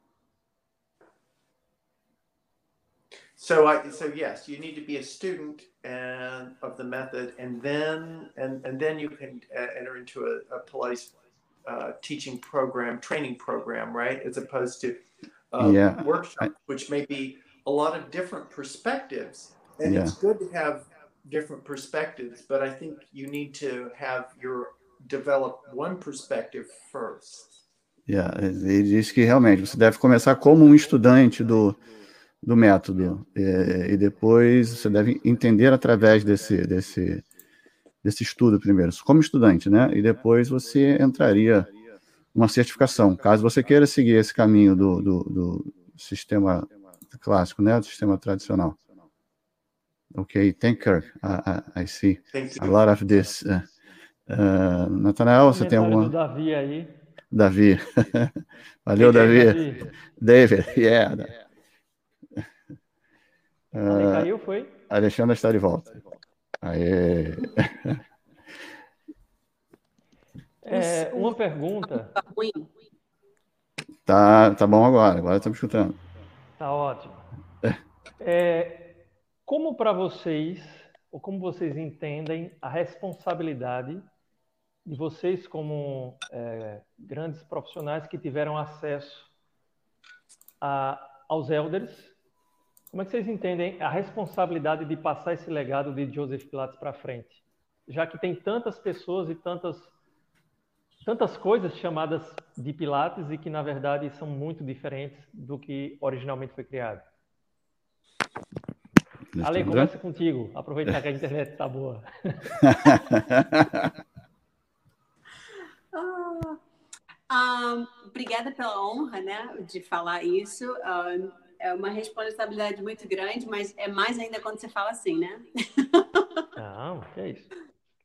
So yes, you need to be a student of the method, and then you can enter into a Pilates teaching program, training program, right? As opposed to workshop, which may be a lot of different perspectives, and it's good to have different perspectives. But I think you need to develop one perspective first. Ele disse que realmente você deve começar como um estudante do método e depois você deve entender através desse estudo primeiro, como estudante, né? E depois você entraria numa certificação, caso você queira seguir esse caminho do sistema clássico, né? Do sistema tradicional. Okay, thank you. I see a lot of this. Nathanael, você tem alguma? Do Davi aí. Davi. Valeu, Davi. David, Ale caiu, foi? Alexandre está de volta. Aê. Uma pergunta. Tá bom agora estamos escutando. Tá ótimo. Como para vocês, ou como vocês entendem a responsabilidade de vocês como grandes profissionais que tiveram acesso aos elders? Como é que vocês entendem a responsabilidade de passar esse legado de Joseph Pilates para frente? Já que tem tantas pessoas e tantas coisas chamadas de Pilates e que, na verdade, são muito diferentes do que originalmente foi criado. Ale, começa contigo. Aproveitar que a internet está boa. Obrigada pela honra, né, de falar isso. É uma responsabilidade muito grande, mas é mais ainda quando você fala assim, né? Não, que é isso.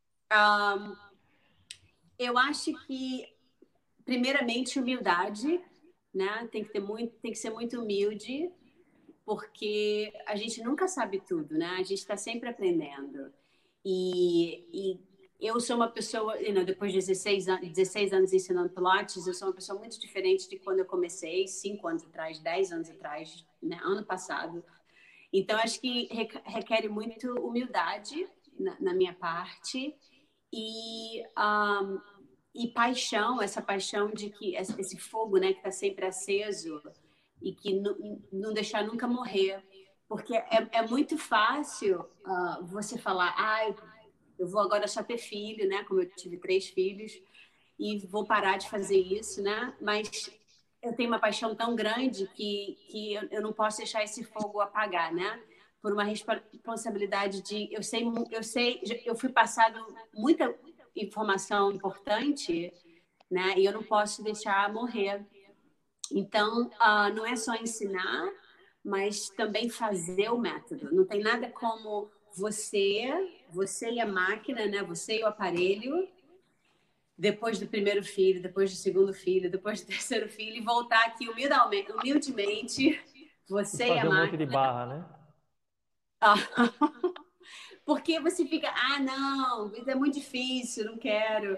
Eu acho que, primeiramente, humildade, né? Tem que ser muito humilde, porque a gente nunca sabe tudo, né? A gente está sempre aprendendo. E eu sou uma pessoa, depois de 16 anos ensinando Pilates, eu sou uma pessoa muito diferente de quando eu comecei, 5 anos atrás, 10 anos atrás, né, ano passado. Então, acho que requer muito humildade na minha parte e paixão, essa paixão de que esse fogo, né, que está sempre aceso e que não deixar nunca morrer. Porque é muito fácil você falar, eu vou agora só ter filho, né? Como eu tive 3 filhos, e vou parar de fazer isso, né? Mas eu tenho uma paixão tão grande que eu não posso deixar esse fogo apagar, né? Por uma responsabilidade de... Eu fui passado muita informação importante, né? E eu não posso deixar morrer. Então, não é só ensinar, mas também fazer o método. Não tem nada como você e a máquina, né? Você e o aparelho, depois do primeiro filho, depois do segundo filho, depois do terceiro filho, e voltar aqui humildemente, você e a Fazer um monte máquina. de barra, né? Porque você fica, não, isso é muito difícil, não quero.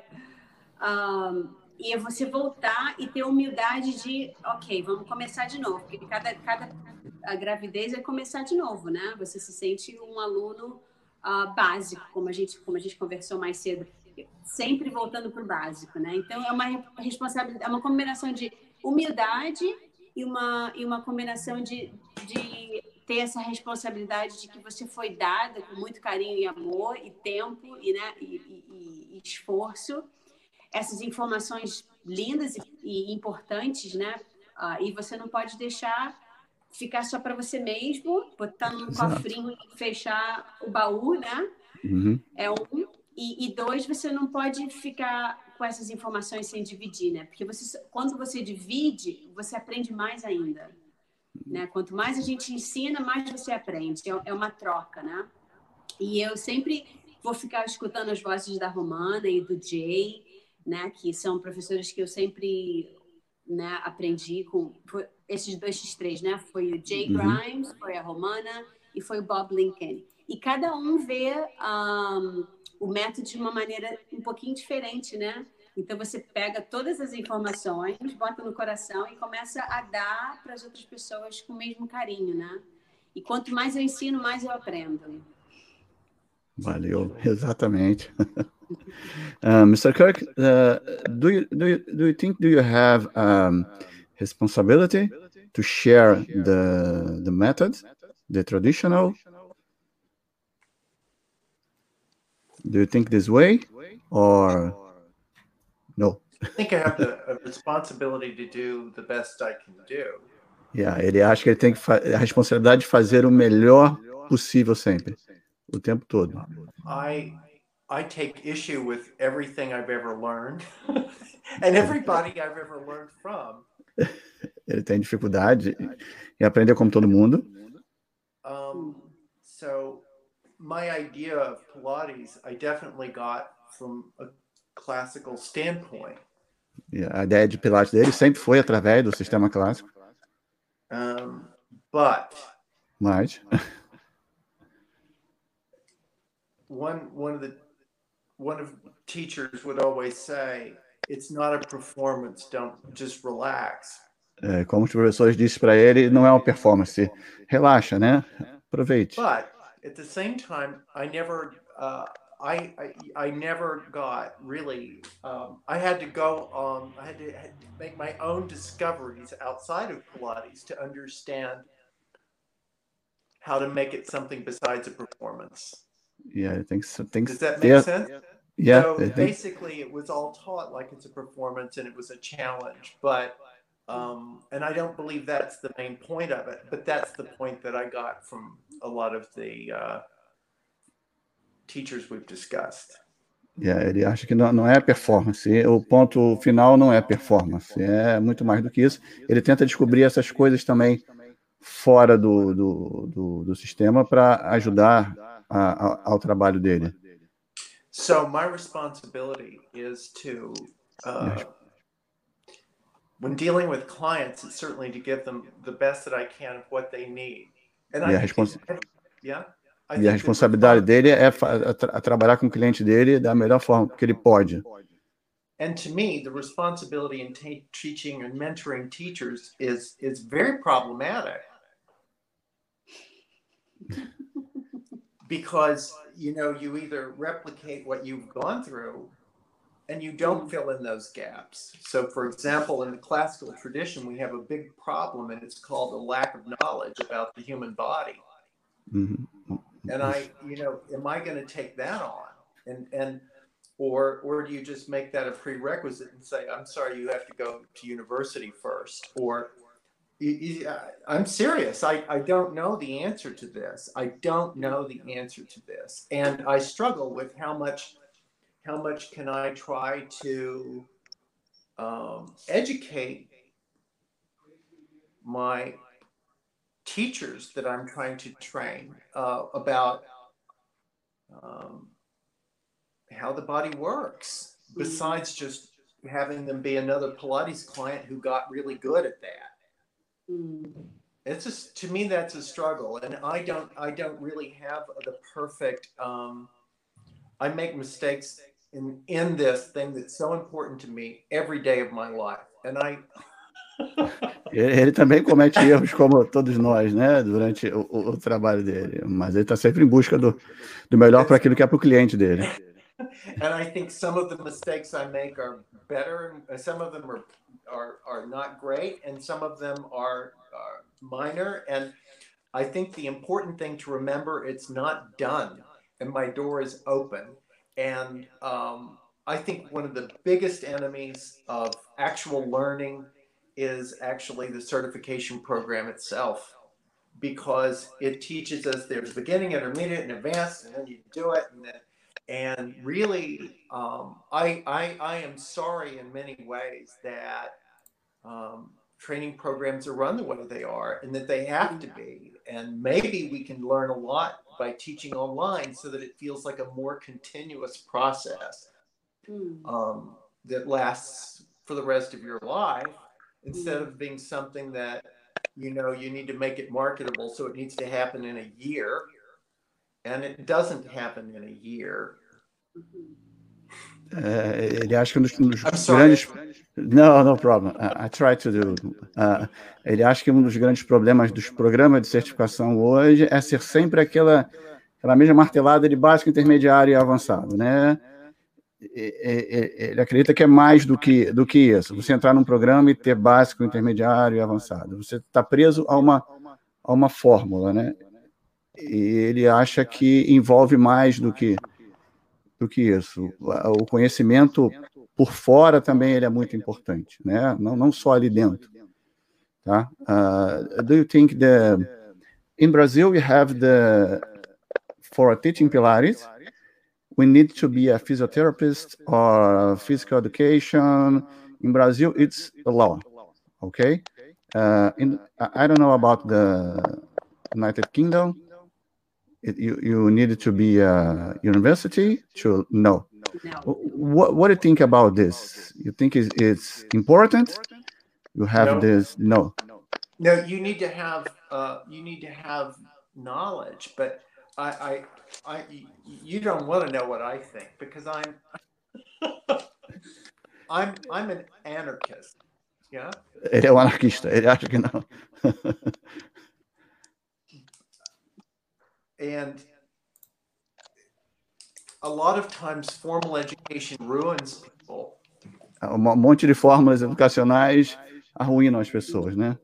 E é você voltar e ter humildade de, ok, vamos começar de novo, porque a gravidez é começar de novo, né? Você se sente um aluno básico, como a gente conversou mais cedo, sempre voltando para o básico, né? Então é uma responsabilidade, é uma combinação de humildade e uma combinação de ter essa responsabilidade de que você foi dada com muito carinho e amor e tempo e esforço, essas informações lindas e importantes, né? E você não pode deixar ficar só para você mesmo, botar num cofrinho e fechar o baú, né? Uhum. É um. E 2, você não pode ficar com essas informações sem dividir, né? Porque quando você divide, você aprende mais ainda. Né? Quanto mais a gente ensina, mais você aprende. É uma troca, né? E eu sempre vou ficar escutando as vozes da Romana e do Jay, né? Que são professores que eu sempre, né, aprendi com esses 3, né? Foi o Jay Grimes, foi a Romana e foi o Bob Lincoln. E cada um vê o método de uma maneira um pouquinho diferente, né? Então, você pega todas as informações, bota no coração e começa a dar para as outras pessoas com o mesmo carinho, né? E quanto mais eu ensino, mais eu aprendo. Valeu, exatamente. Mr. Kirk, do you think you have responsibility to share the method, the traditional? Do you think this way, or no? I think I have the responsibility to do the best I can do. Yeah, ele acha que ele tem a responsabilidade de fazer o melhor possível sempre, o tempo todo. I take issue with everything I've ever learned and everybody I've ever learned from. Ele tem dificuldade em aprender como todo mundo. So my idea of Pilates, I definitely got from a classical standpoint. A ideia de Pilates dele sempre foi através do sistema clássico. Mas one of teachers would always say, it's not a performance, don't just relax. Como os professores disseram para ele, não é uma performance, relaxa, né? Aproveite. But at the same time, I never got really. I had to go. I had to make my own discoveries outside of Pilates to understand how to make it something besides a performance. Yeah, Does that make sense? Yeah. So basically, it was all taught like it's a performance and it was a challenge, but. And I don't believe that's the main point of it, but that's the point that I got from a lot of the teachers we've discussed. Ele acha que não é performance. O ponto final não é performance. É muito mais do que isso. Ele tenta descobrir essas coisas também fora do sistema para ajudar ao trabalho dele. So my responsibility is to when dealing with clients, it's certainly to give them the best that I can of what they need. And a E a responsabilidade dele é trabalhar com o cliente dele da melhor forma que ele pode. And to me, the responsibility in teaching and mentoring teachers is very problematic. Because, you know, you either replicate what you've gone through and you don't fill in those gaps. So, for example, in the classical tradition, we have a big problem, and it's called a lack of knowledge about the human body. Mm-hmm. And you know, am I going to take that on? Or do you just make that a prerequisite and say, I'm sorry, you have to go to university first? Or I'm serious. I don't know the answer to this. I don't know the answer to this. And I struggle with how much can I try to educate my teachers that I'm trying to train about how the body works, besides just having them be another Pilates client who got really good at that. It's just, to me, that's a struggle, and I don't really have the perfect. I make mistakes in this thing that's so important to me every day of my life, and Ele também comete erros como todos nós, né, durante o trabalho dele, mas ele está sempre em busca do melhor para aquilo que é para o cliente dele. And I think some of the mistakes I make are better, and some of them are not great, and some of them are minor. And I think the important thing to remember, it's not done, and my door is open. And I think one of the biggest enemies of actual learning is actually the certification program itself, because it teaches us there's beginning, intermediate, and advanced, and then you do it, and really, I am sorry in many ways that training programs are run the way they are, and that they have to be. And maybe we can learn a lot by teaching online, so that it feels like a more continuous process that lasts for the rest of your life, instead of being something that, you know, you need to make it marketable, so it needs to happen in a year. And it doesn't happen in a year. Ele acha que dos grandes... No problem. I try to do. Ele acha que dos grandes problemas dos programas de certificação hoje é ser sempre aquela mesma martelada de básico, intermediário e avançado, né? Ele acredita que é mais do que isso. Você entrar num programa e ter básico, intermediário e avançado. Você está preso a uma fórmula, né? E ele acha que envolve mais do que isso. O conhecimento por fora também ele é muito importante, né? Não só ali dentro, tá? Do you think in Brazil we have for teaching Pilates we need to be a physiotherapist or physical education? In Brazil it's a law, okay? I don't know about the United Kingdom. You needed to be a university to know. No. What do you think about this? You think it's important? You have this? No. No, you need to have knowledge, but you don't want to know what I think, because I'm an anarchist. Yeah. Ele é um anarquista. Ele acha que não. And a lot of times formal education ruins people. Monte de fórmulas educacionais arruinam as pessoas, né?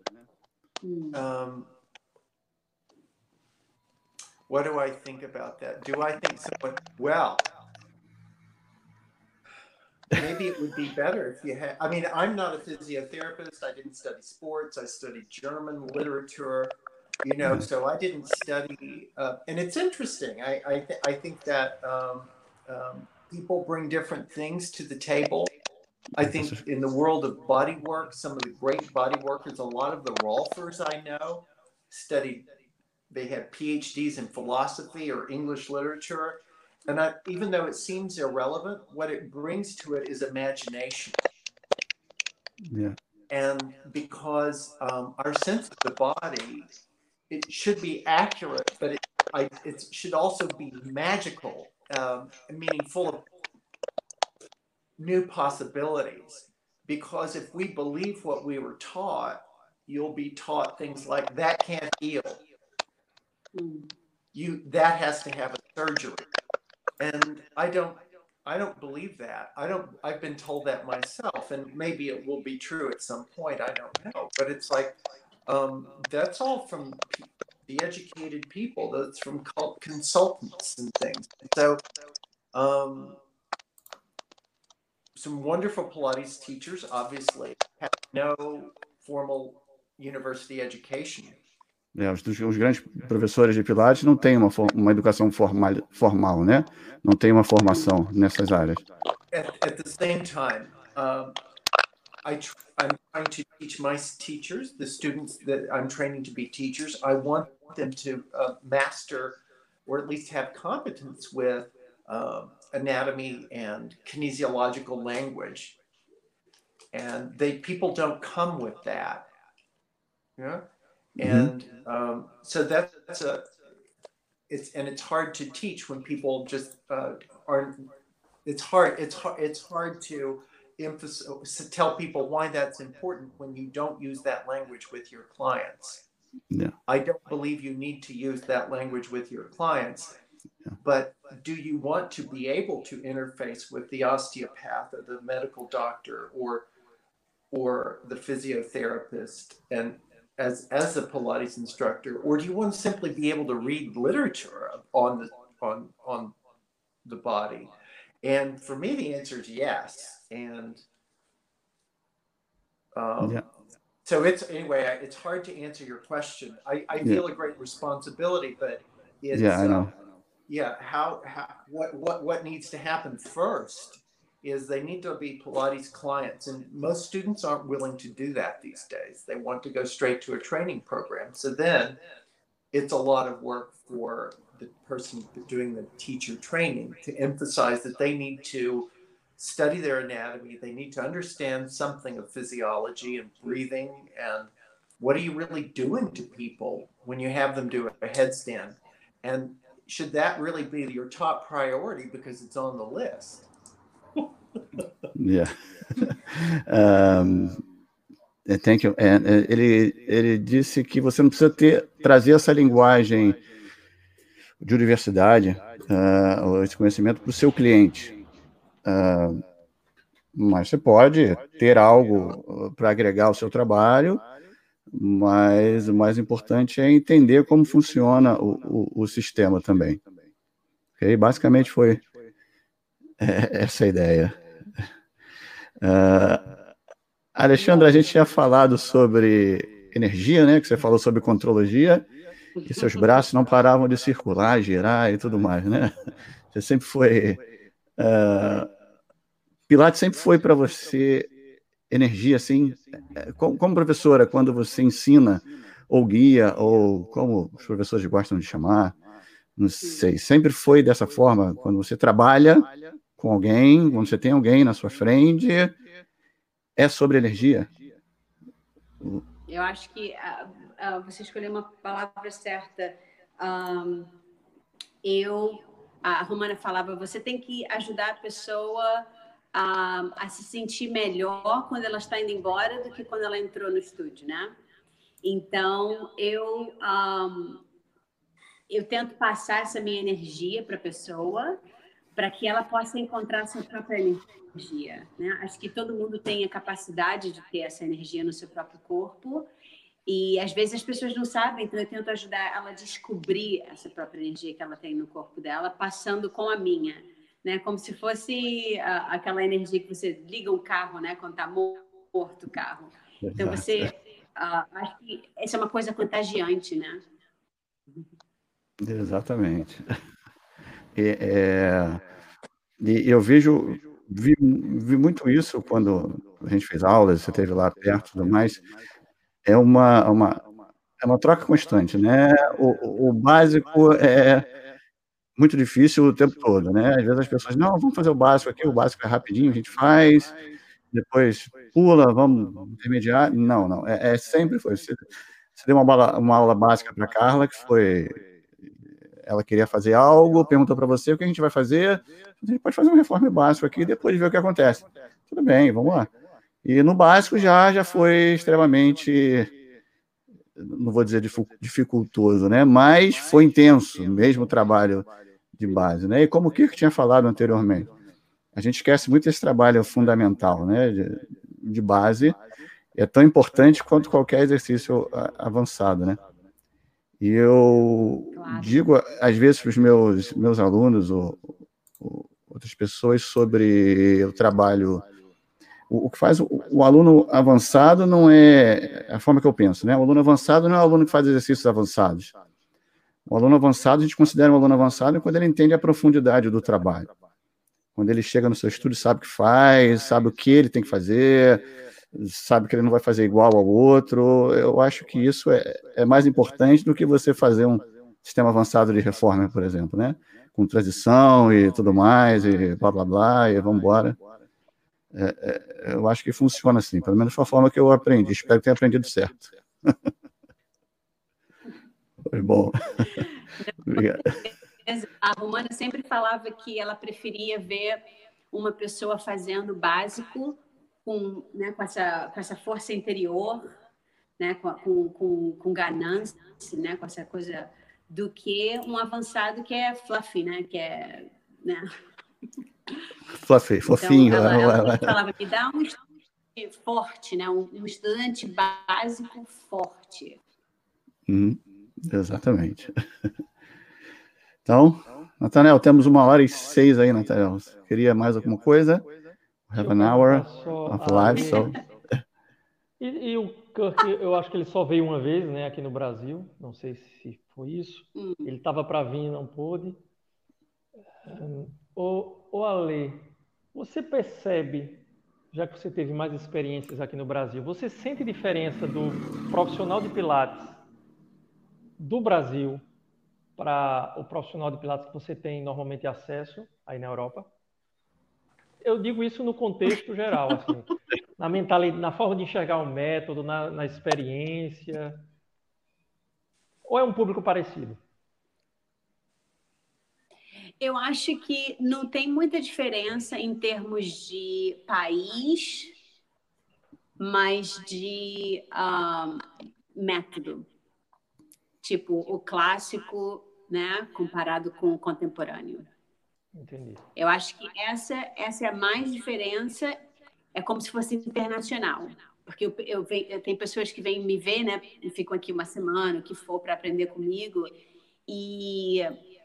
What do I think about that? Do I think someone, well, maybe it would be better if you had, I mean, I'm not a physiotherapist. I didn't study sports. I studied German literature. You know, so I didn't study, and it's interesting. I think that people bring different things to the table. I think in the world of body work, some of the great body workers, a lot of the Rolfers I know studied, they had PhDs in philosophy or English literature. And even though it seems irrelevant, what it brings to it is imagination. Yeah. And because our sense of the body, it should be accurate, but it should also be magical, meaning full of new possibilities. Because if we believe what we were taught, you'll be taught things like that can't heal. That has to have a surgery. And I don't believe that. I've been told that myself, and maybe it will be true at some point. I don't know. But it's like, that's all from the educated people. That's from consultants and things. So, some wonderful Pilates teachers, obviously, have no formal university education. Os grandes professores de Pilates não têm uma educação formal, né? Não tem uma formação nessas áreas. At the same time, I'm trying to teach my teachers, the students that I'm training to be teachers, I want them to master or at least have competence with anatomy and kinesiological language. And people don't come with that. Yeah. And so it's hard to teach when people just aren't. It's hard to tell people why that's important when you don't use that language with your clients. Yeah. I don't believe you need to use that language with your clients, but do you want to be able to interface with the osteopath or the medical doctor or the physiotherapist and as a Pilates instructor, or do you want to simply be able to read literature on the body? And for me, the answer is yes. And so it's hard to answer your question. I feel a great responsibility, but it's I know. What needs to happen first is they need to be Pilates clients, and most students aren't willing to do that these days. They want to go straight to a training program. So then it's a lot of work for the person doing the teacher training to emphasize that they need to study their anatomy. They need to understand something of physiology and breathing and what are you really doing to people when you have them do a headstand. And should that really be your top priority because it's on the list? Yeah. Thank you. Ele disse que você não precisa trazer essa linguagem de universidade, esse conhecimento para o seu cliente. Mas você pode ter algo para agregar ao seu trabalho, mas o mais importante é entender como funciona o sistema também. Okay? Basicamente foi essa a ideia. Alexandra, a gente tinha falado sobre energia, né? Que você falou sobre contrologia, que seus braços não paravam de circular, girar e tudo mais, né? Você sempre foi... Pilates sempre foi para você energia, assim? Como professora, quando você ensina, ou guia, ou como os professores gostam de chamar, não sei, sempre foi dessa forma? Quando você trabalha com alguém, quando você tem alguém na sua frente, é sobre energia? Eu acho que você escolheu uma palavra certa. A Romana falava, você tem que ajudar a pessoa a se sentir melhor quando ela está indo embora do que quando ela entrou no estúdio, né? Então, eu tento passar essa minha energia para a pessoa, para que ela possa encontrar sua própria energia, né? Acho que todo mundo tem a capacidade de ter essa energia no seu próprio corpo e às vezes as pessoas não sabem, então eu tento ajudar ela a descobrir essa própria energia que ela tem no corpo dela, passando com a minha, né? Como se fosse aquela energia que você liga um carro, né? Quando está morto o carro. Então você, acho que essa é uma coisa contagiante, né? Exatamente. E eu vi muito isso quando a gente fez aulas, você esteve lá perto e tudo mais. É uma troca constante, né? O básico é muito difícil o tempo todo, né? Às vezes as pessoas, não, vamos fazer o básico aqui, o básico é rapidinho, a gente faz, depois pula, vamos intermediar. Não, sempre foi. Você deu uma aula básica para a Carla, que foi... ela queria fazer algo, perguntou para você o que a gente vai fazer. A gente pode fazer um reforme básico aqui e depois ver o que acontece. Tudo bem, vamos lá. E no básico já foi extremamente, não vou dizer dificultoso, né? Mas foi intenso, mesmo o trabalho de base, né? E como o Kirk tinha falado anteriormente, a gente esquece muito esse trabalho fundamental, né? De base, é tão importante quanto qualquer exercício avançado, né? E eu digo, às vezes, para os meus alunos ou outras pessoas sobre o trabalho. O que faz o aluno avançado não é a forma que eu penso, né? O aluno avançado não é o aluno que faz exercícios avançados. O aluno avançado, a gente considera um aluno avançado quando ele entende a profundidade do trabalho. Quando ele chega no seu estudo, sabe o que faz, sabe o que ele tem que fazer, sabe que ele não vai fazer igual ao outro. Eu acho que isso é mais importante do que você fazer um sistema avançado de reforma, por exemplo, né? Com transição e tudo mais, e blá, blá, blá, e vamos embora. Eu acho que funciona assim, pelo menos foi a forma que eu aprendi. Espero que tenha aprendido certo. Foi bom. Obrigado. A Romana sempre falava que ela preferia ver uma pessoa fazendo básico com essa força interior, né, com ganância, né, com essa coisa, do que um avançado que é fluffy, né, que é, né? Fluffy, fofinho. Então, ela falava que dá um estudante forte, né, um estudante básico forte. Exatamente. Então, Nathanael, temos 1h06 aí, Nathanael. Queria mais alguma coisa? Have an hour of live, so... E o Kirk, eu acho que ele só veio uma vez, né, aqui no Brasil. Não sei se foi isso. Ele estava para vir e não pôde. Ô Ale, você percebe, já que você teve mais experiências aqui no Brasil, você sente diferença do profissional de Pilates do Brasil para o profissional de Pilates que você tem normalmente acesso aí na Europa? Eu digo isso no contexto geral, assim, na mentalidade, na forma de enxergar o método, na experiência. Ou é um público parecido? Eu acho que não tem muita diferença em termos de país, mas de método. Tipo, o clássico, né, comparado com o contemporâneo. Entendi. Eu acho que essa é a mais diferença, é como se fosse internacional. Porque eu tenho pessoas que vêm me ver, né, e ficam aqui uma semana, o que for, para aprender comigo, e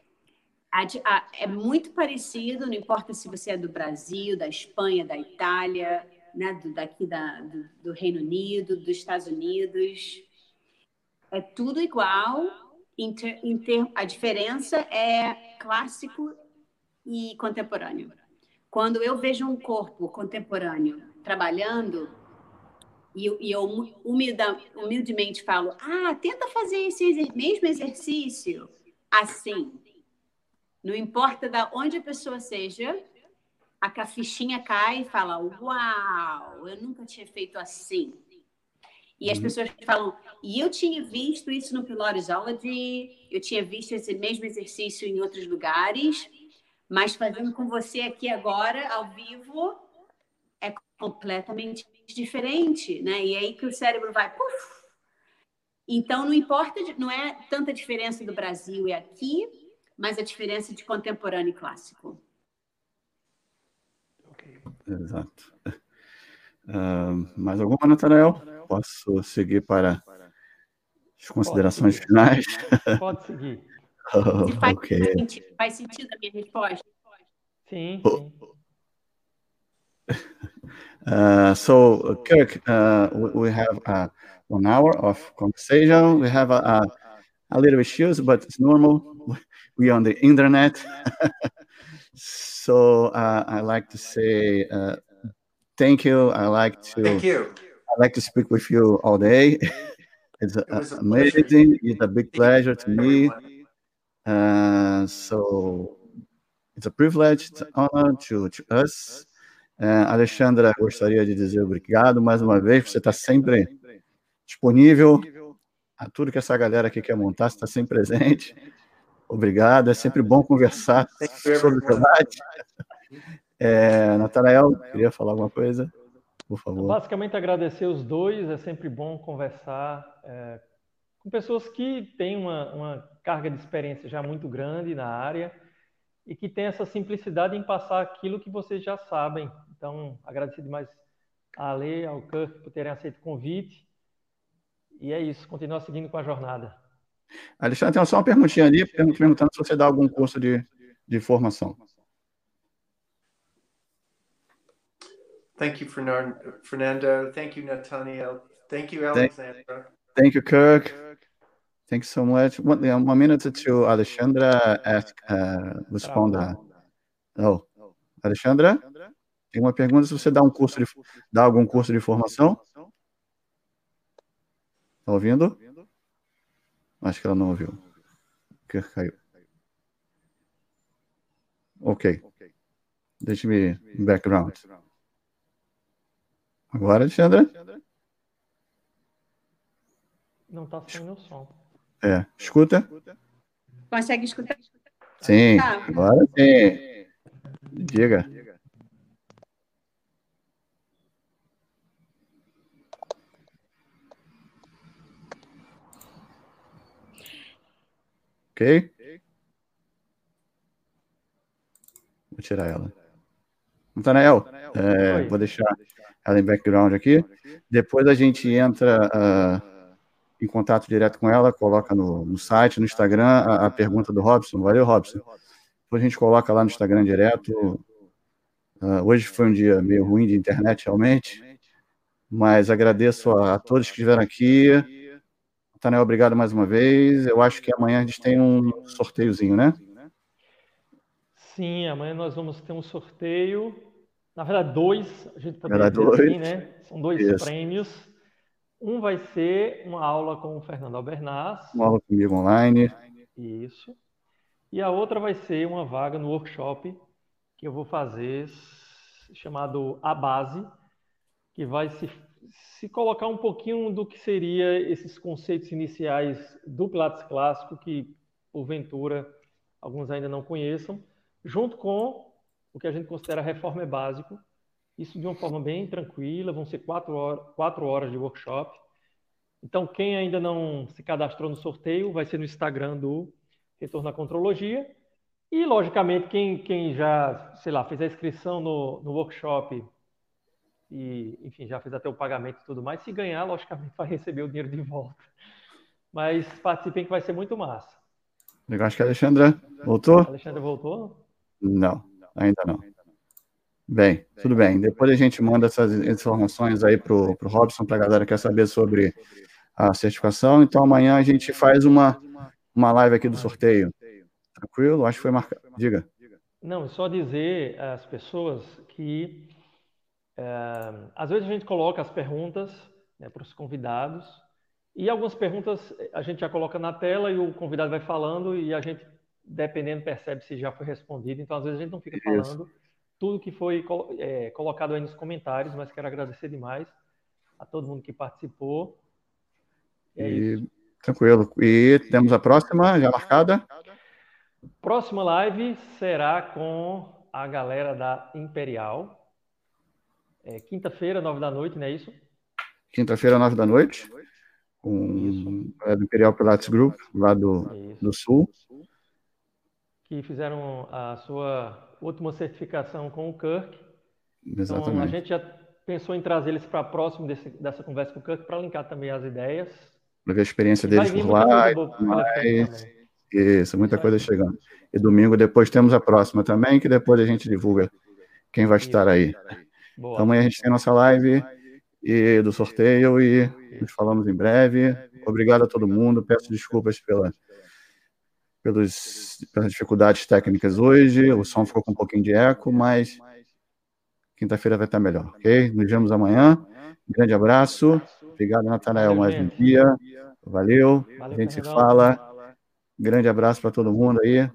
é muito parecido, não importa se você é do Brasil, da Espanha, da Itália, né, daqui do Reino Unido, dos Estados Unidos. É tudo igual, a diferença é clássico e contemporâneo. Quando eu vejo um corpo contemporâneo trabalhando, e eu humildemente falo, tenta fazer esse mesmo exercício assim. Não importa de onde a pessoa seja, a fichinha cai e fala, uau, eu nunca tinha feito assim. E as pessoas falam, e eu tinha visto isso no Pilatesology, eu tinha visto esse mesmo exercício em outros lugares, mas fazendo com você aqui agora, ao vivo, é completamente diferente, né? E aí que o cérebro vai, puf! Então, não importa, não é tanta diferença do Brasil e aqui, mas a diferença de contemporâneo e clássico. Exato. Mais alguma, Nathanael? Posso seguir para as considerações finais? Pode seguir. Faz sentido a minha resposta? Sim. So, Kirk, we have 1 hour of conversation. We have a little issues, but it's normal. We are on the internet. So I like to say thank you. Thank you. I like to speak with you all day. It's amazing. It's a big pleasure to me. So it's a privilege, it's an honor to us. Alexandra, gostaria de dizer obrigado mais uma vez, você está sempre disponível a tudo que essa galera aqui quer montar, você está sempre presente. Obrigado, é sempre bom conversar sobre o debate. Natanael, queria falar alguma coisa? Por favor. Basicamente, agradecer os dois. É sempre bom conversar com pessoas que têm uma carga de experiência já muito grande na área e que têm essa simplicidade em passar aquilo que vocês já sabem. Então, agradecer demais a Ale, ao Kirk, por terem aceito o convite. E é isso, continuar seguindo com a jornada. Alexandre, tem só uma perguntinha ali, perguntando se você dá algum curso de formação. Thank you, Fernando. Thank you, Nathaniel. Thank you, Alexandra. Thank you, Kirk. Thank you so much. One minute to Alexandra responder. Oh, Alexandra, tem uma pergunta se você dá algum curso de formação? Tá ouvindo? Acho que ela não ouviu. Kirk caiu. Ok. Deixa-me background. Agora, Alexandra? Não está saindo o som. Escuta? Consegue escutar? Sim, agora sim. Diga. Ok? Vou tirar ela. Natanael, vou deixar ela em background aqui. Depois a gente entra em contato direto com ela, coloca no site, no Instagram, a pergunta do Robson. Valeu, Robson. Depois a gente coloca lá no Instagram direto. Hoje foi um dia meio ruim de internet, realmente, mas agradeço a todos que estiveram aqui. Natanael, obrigado mais uma vez. Eu acho que amanhã a gente tem um sorteiozinho, né? Sim, amanhã nós vamos ter um sorteio. Na verdade, dois, a gente poderia dizer assim, né? São dois prêmios. Um vai ser uma aula com o Fernando Albernaz. Uma aula comigo online. Isso. E a outra vai ser uma vaga no workshop que eu vou fazer, chamado A Base, que vai se colocar um pouquinho do que seria esses conceitos iniciais do Pilates clássico, que, porventura, alguns ainda não conheçam, junto com o que a gente considera reforma básico. Isso de uma forma bem tranquila, vão ser 4 horas de workshop. Então, quem ainda não se cadastrou no sorteio, vai ser no Instagram do Retorno à Contrologia. E, logicamente, quem já, sei lá, fez a inscrição no workshop e, enfim, já fez até o pagamento e tudo mais, se ganhar, logicamente, vai receber o dinheiro de volta. Mas participem que vai ser muito massa. Eu acho que a Alexandra voltou? A Alexandra voltou? Não, ainda não. Bem, tudo bem. Depois a gente manda essas informações aí pro Robson, para a galera que quer saber sobre a certificação. Então, amanhã a gente faz uma live aqui do sorteio. Tranquilo? Acho que foi marcado. Diga. Não, é só dizer às pessoas que às vezes a gente coloca as perguntas, né, para os convidados, e algumas perguntas a gente já coloca na tela e o convidado vai falando e a gente, dependendo, percebe se já foi respondido. Então, às vezes a gente não fica falando tudo que foi colocado aí nos comentários, mas quero agradecer demais a todo mundo que participou. Isso. Tranquilo. E temos a próxima já marcada? Próxima live será com a galera da Imperial. Quinta-feira, 9 da noite, não é isso? Quinta-feira, 9 da noite. Com do Imperial Pilates Group, lá do Sul. Que fizeram a sua última certificação com o Kirk. Exatamente. Então, a gente já pensou em trazer eles para próximo dessa conversa com o Kirk, para linkar também as ideias. Para ver a experiência deles por lá. Isso, muita coisa chegando. E domingo depois temos a próxima também, que depois a gente divulga quem vai estar aí. Boa. Então amanhã a gente tem nossa live do sorteio e nos falamos em breve. Obrigado a todo mundo. Peço desculpas pelas dificuldades técnicas hoje. O som ficou com um pouquinho de eco, mas quinta-feira vai estar melhor, ok? Nos vemos amanhã. Um grande abraço. Obrigado, Natanael, mais um dia. Valeu. A gente se fala. Grande abraço para todo mundo aí.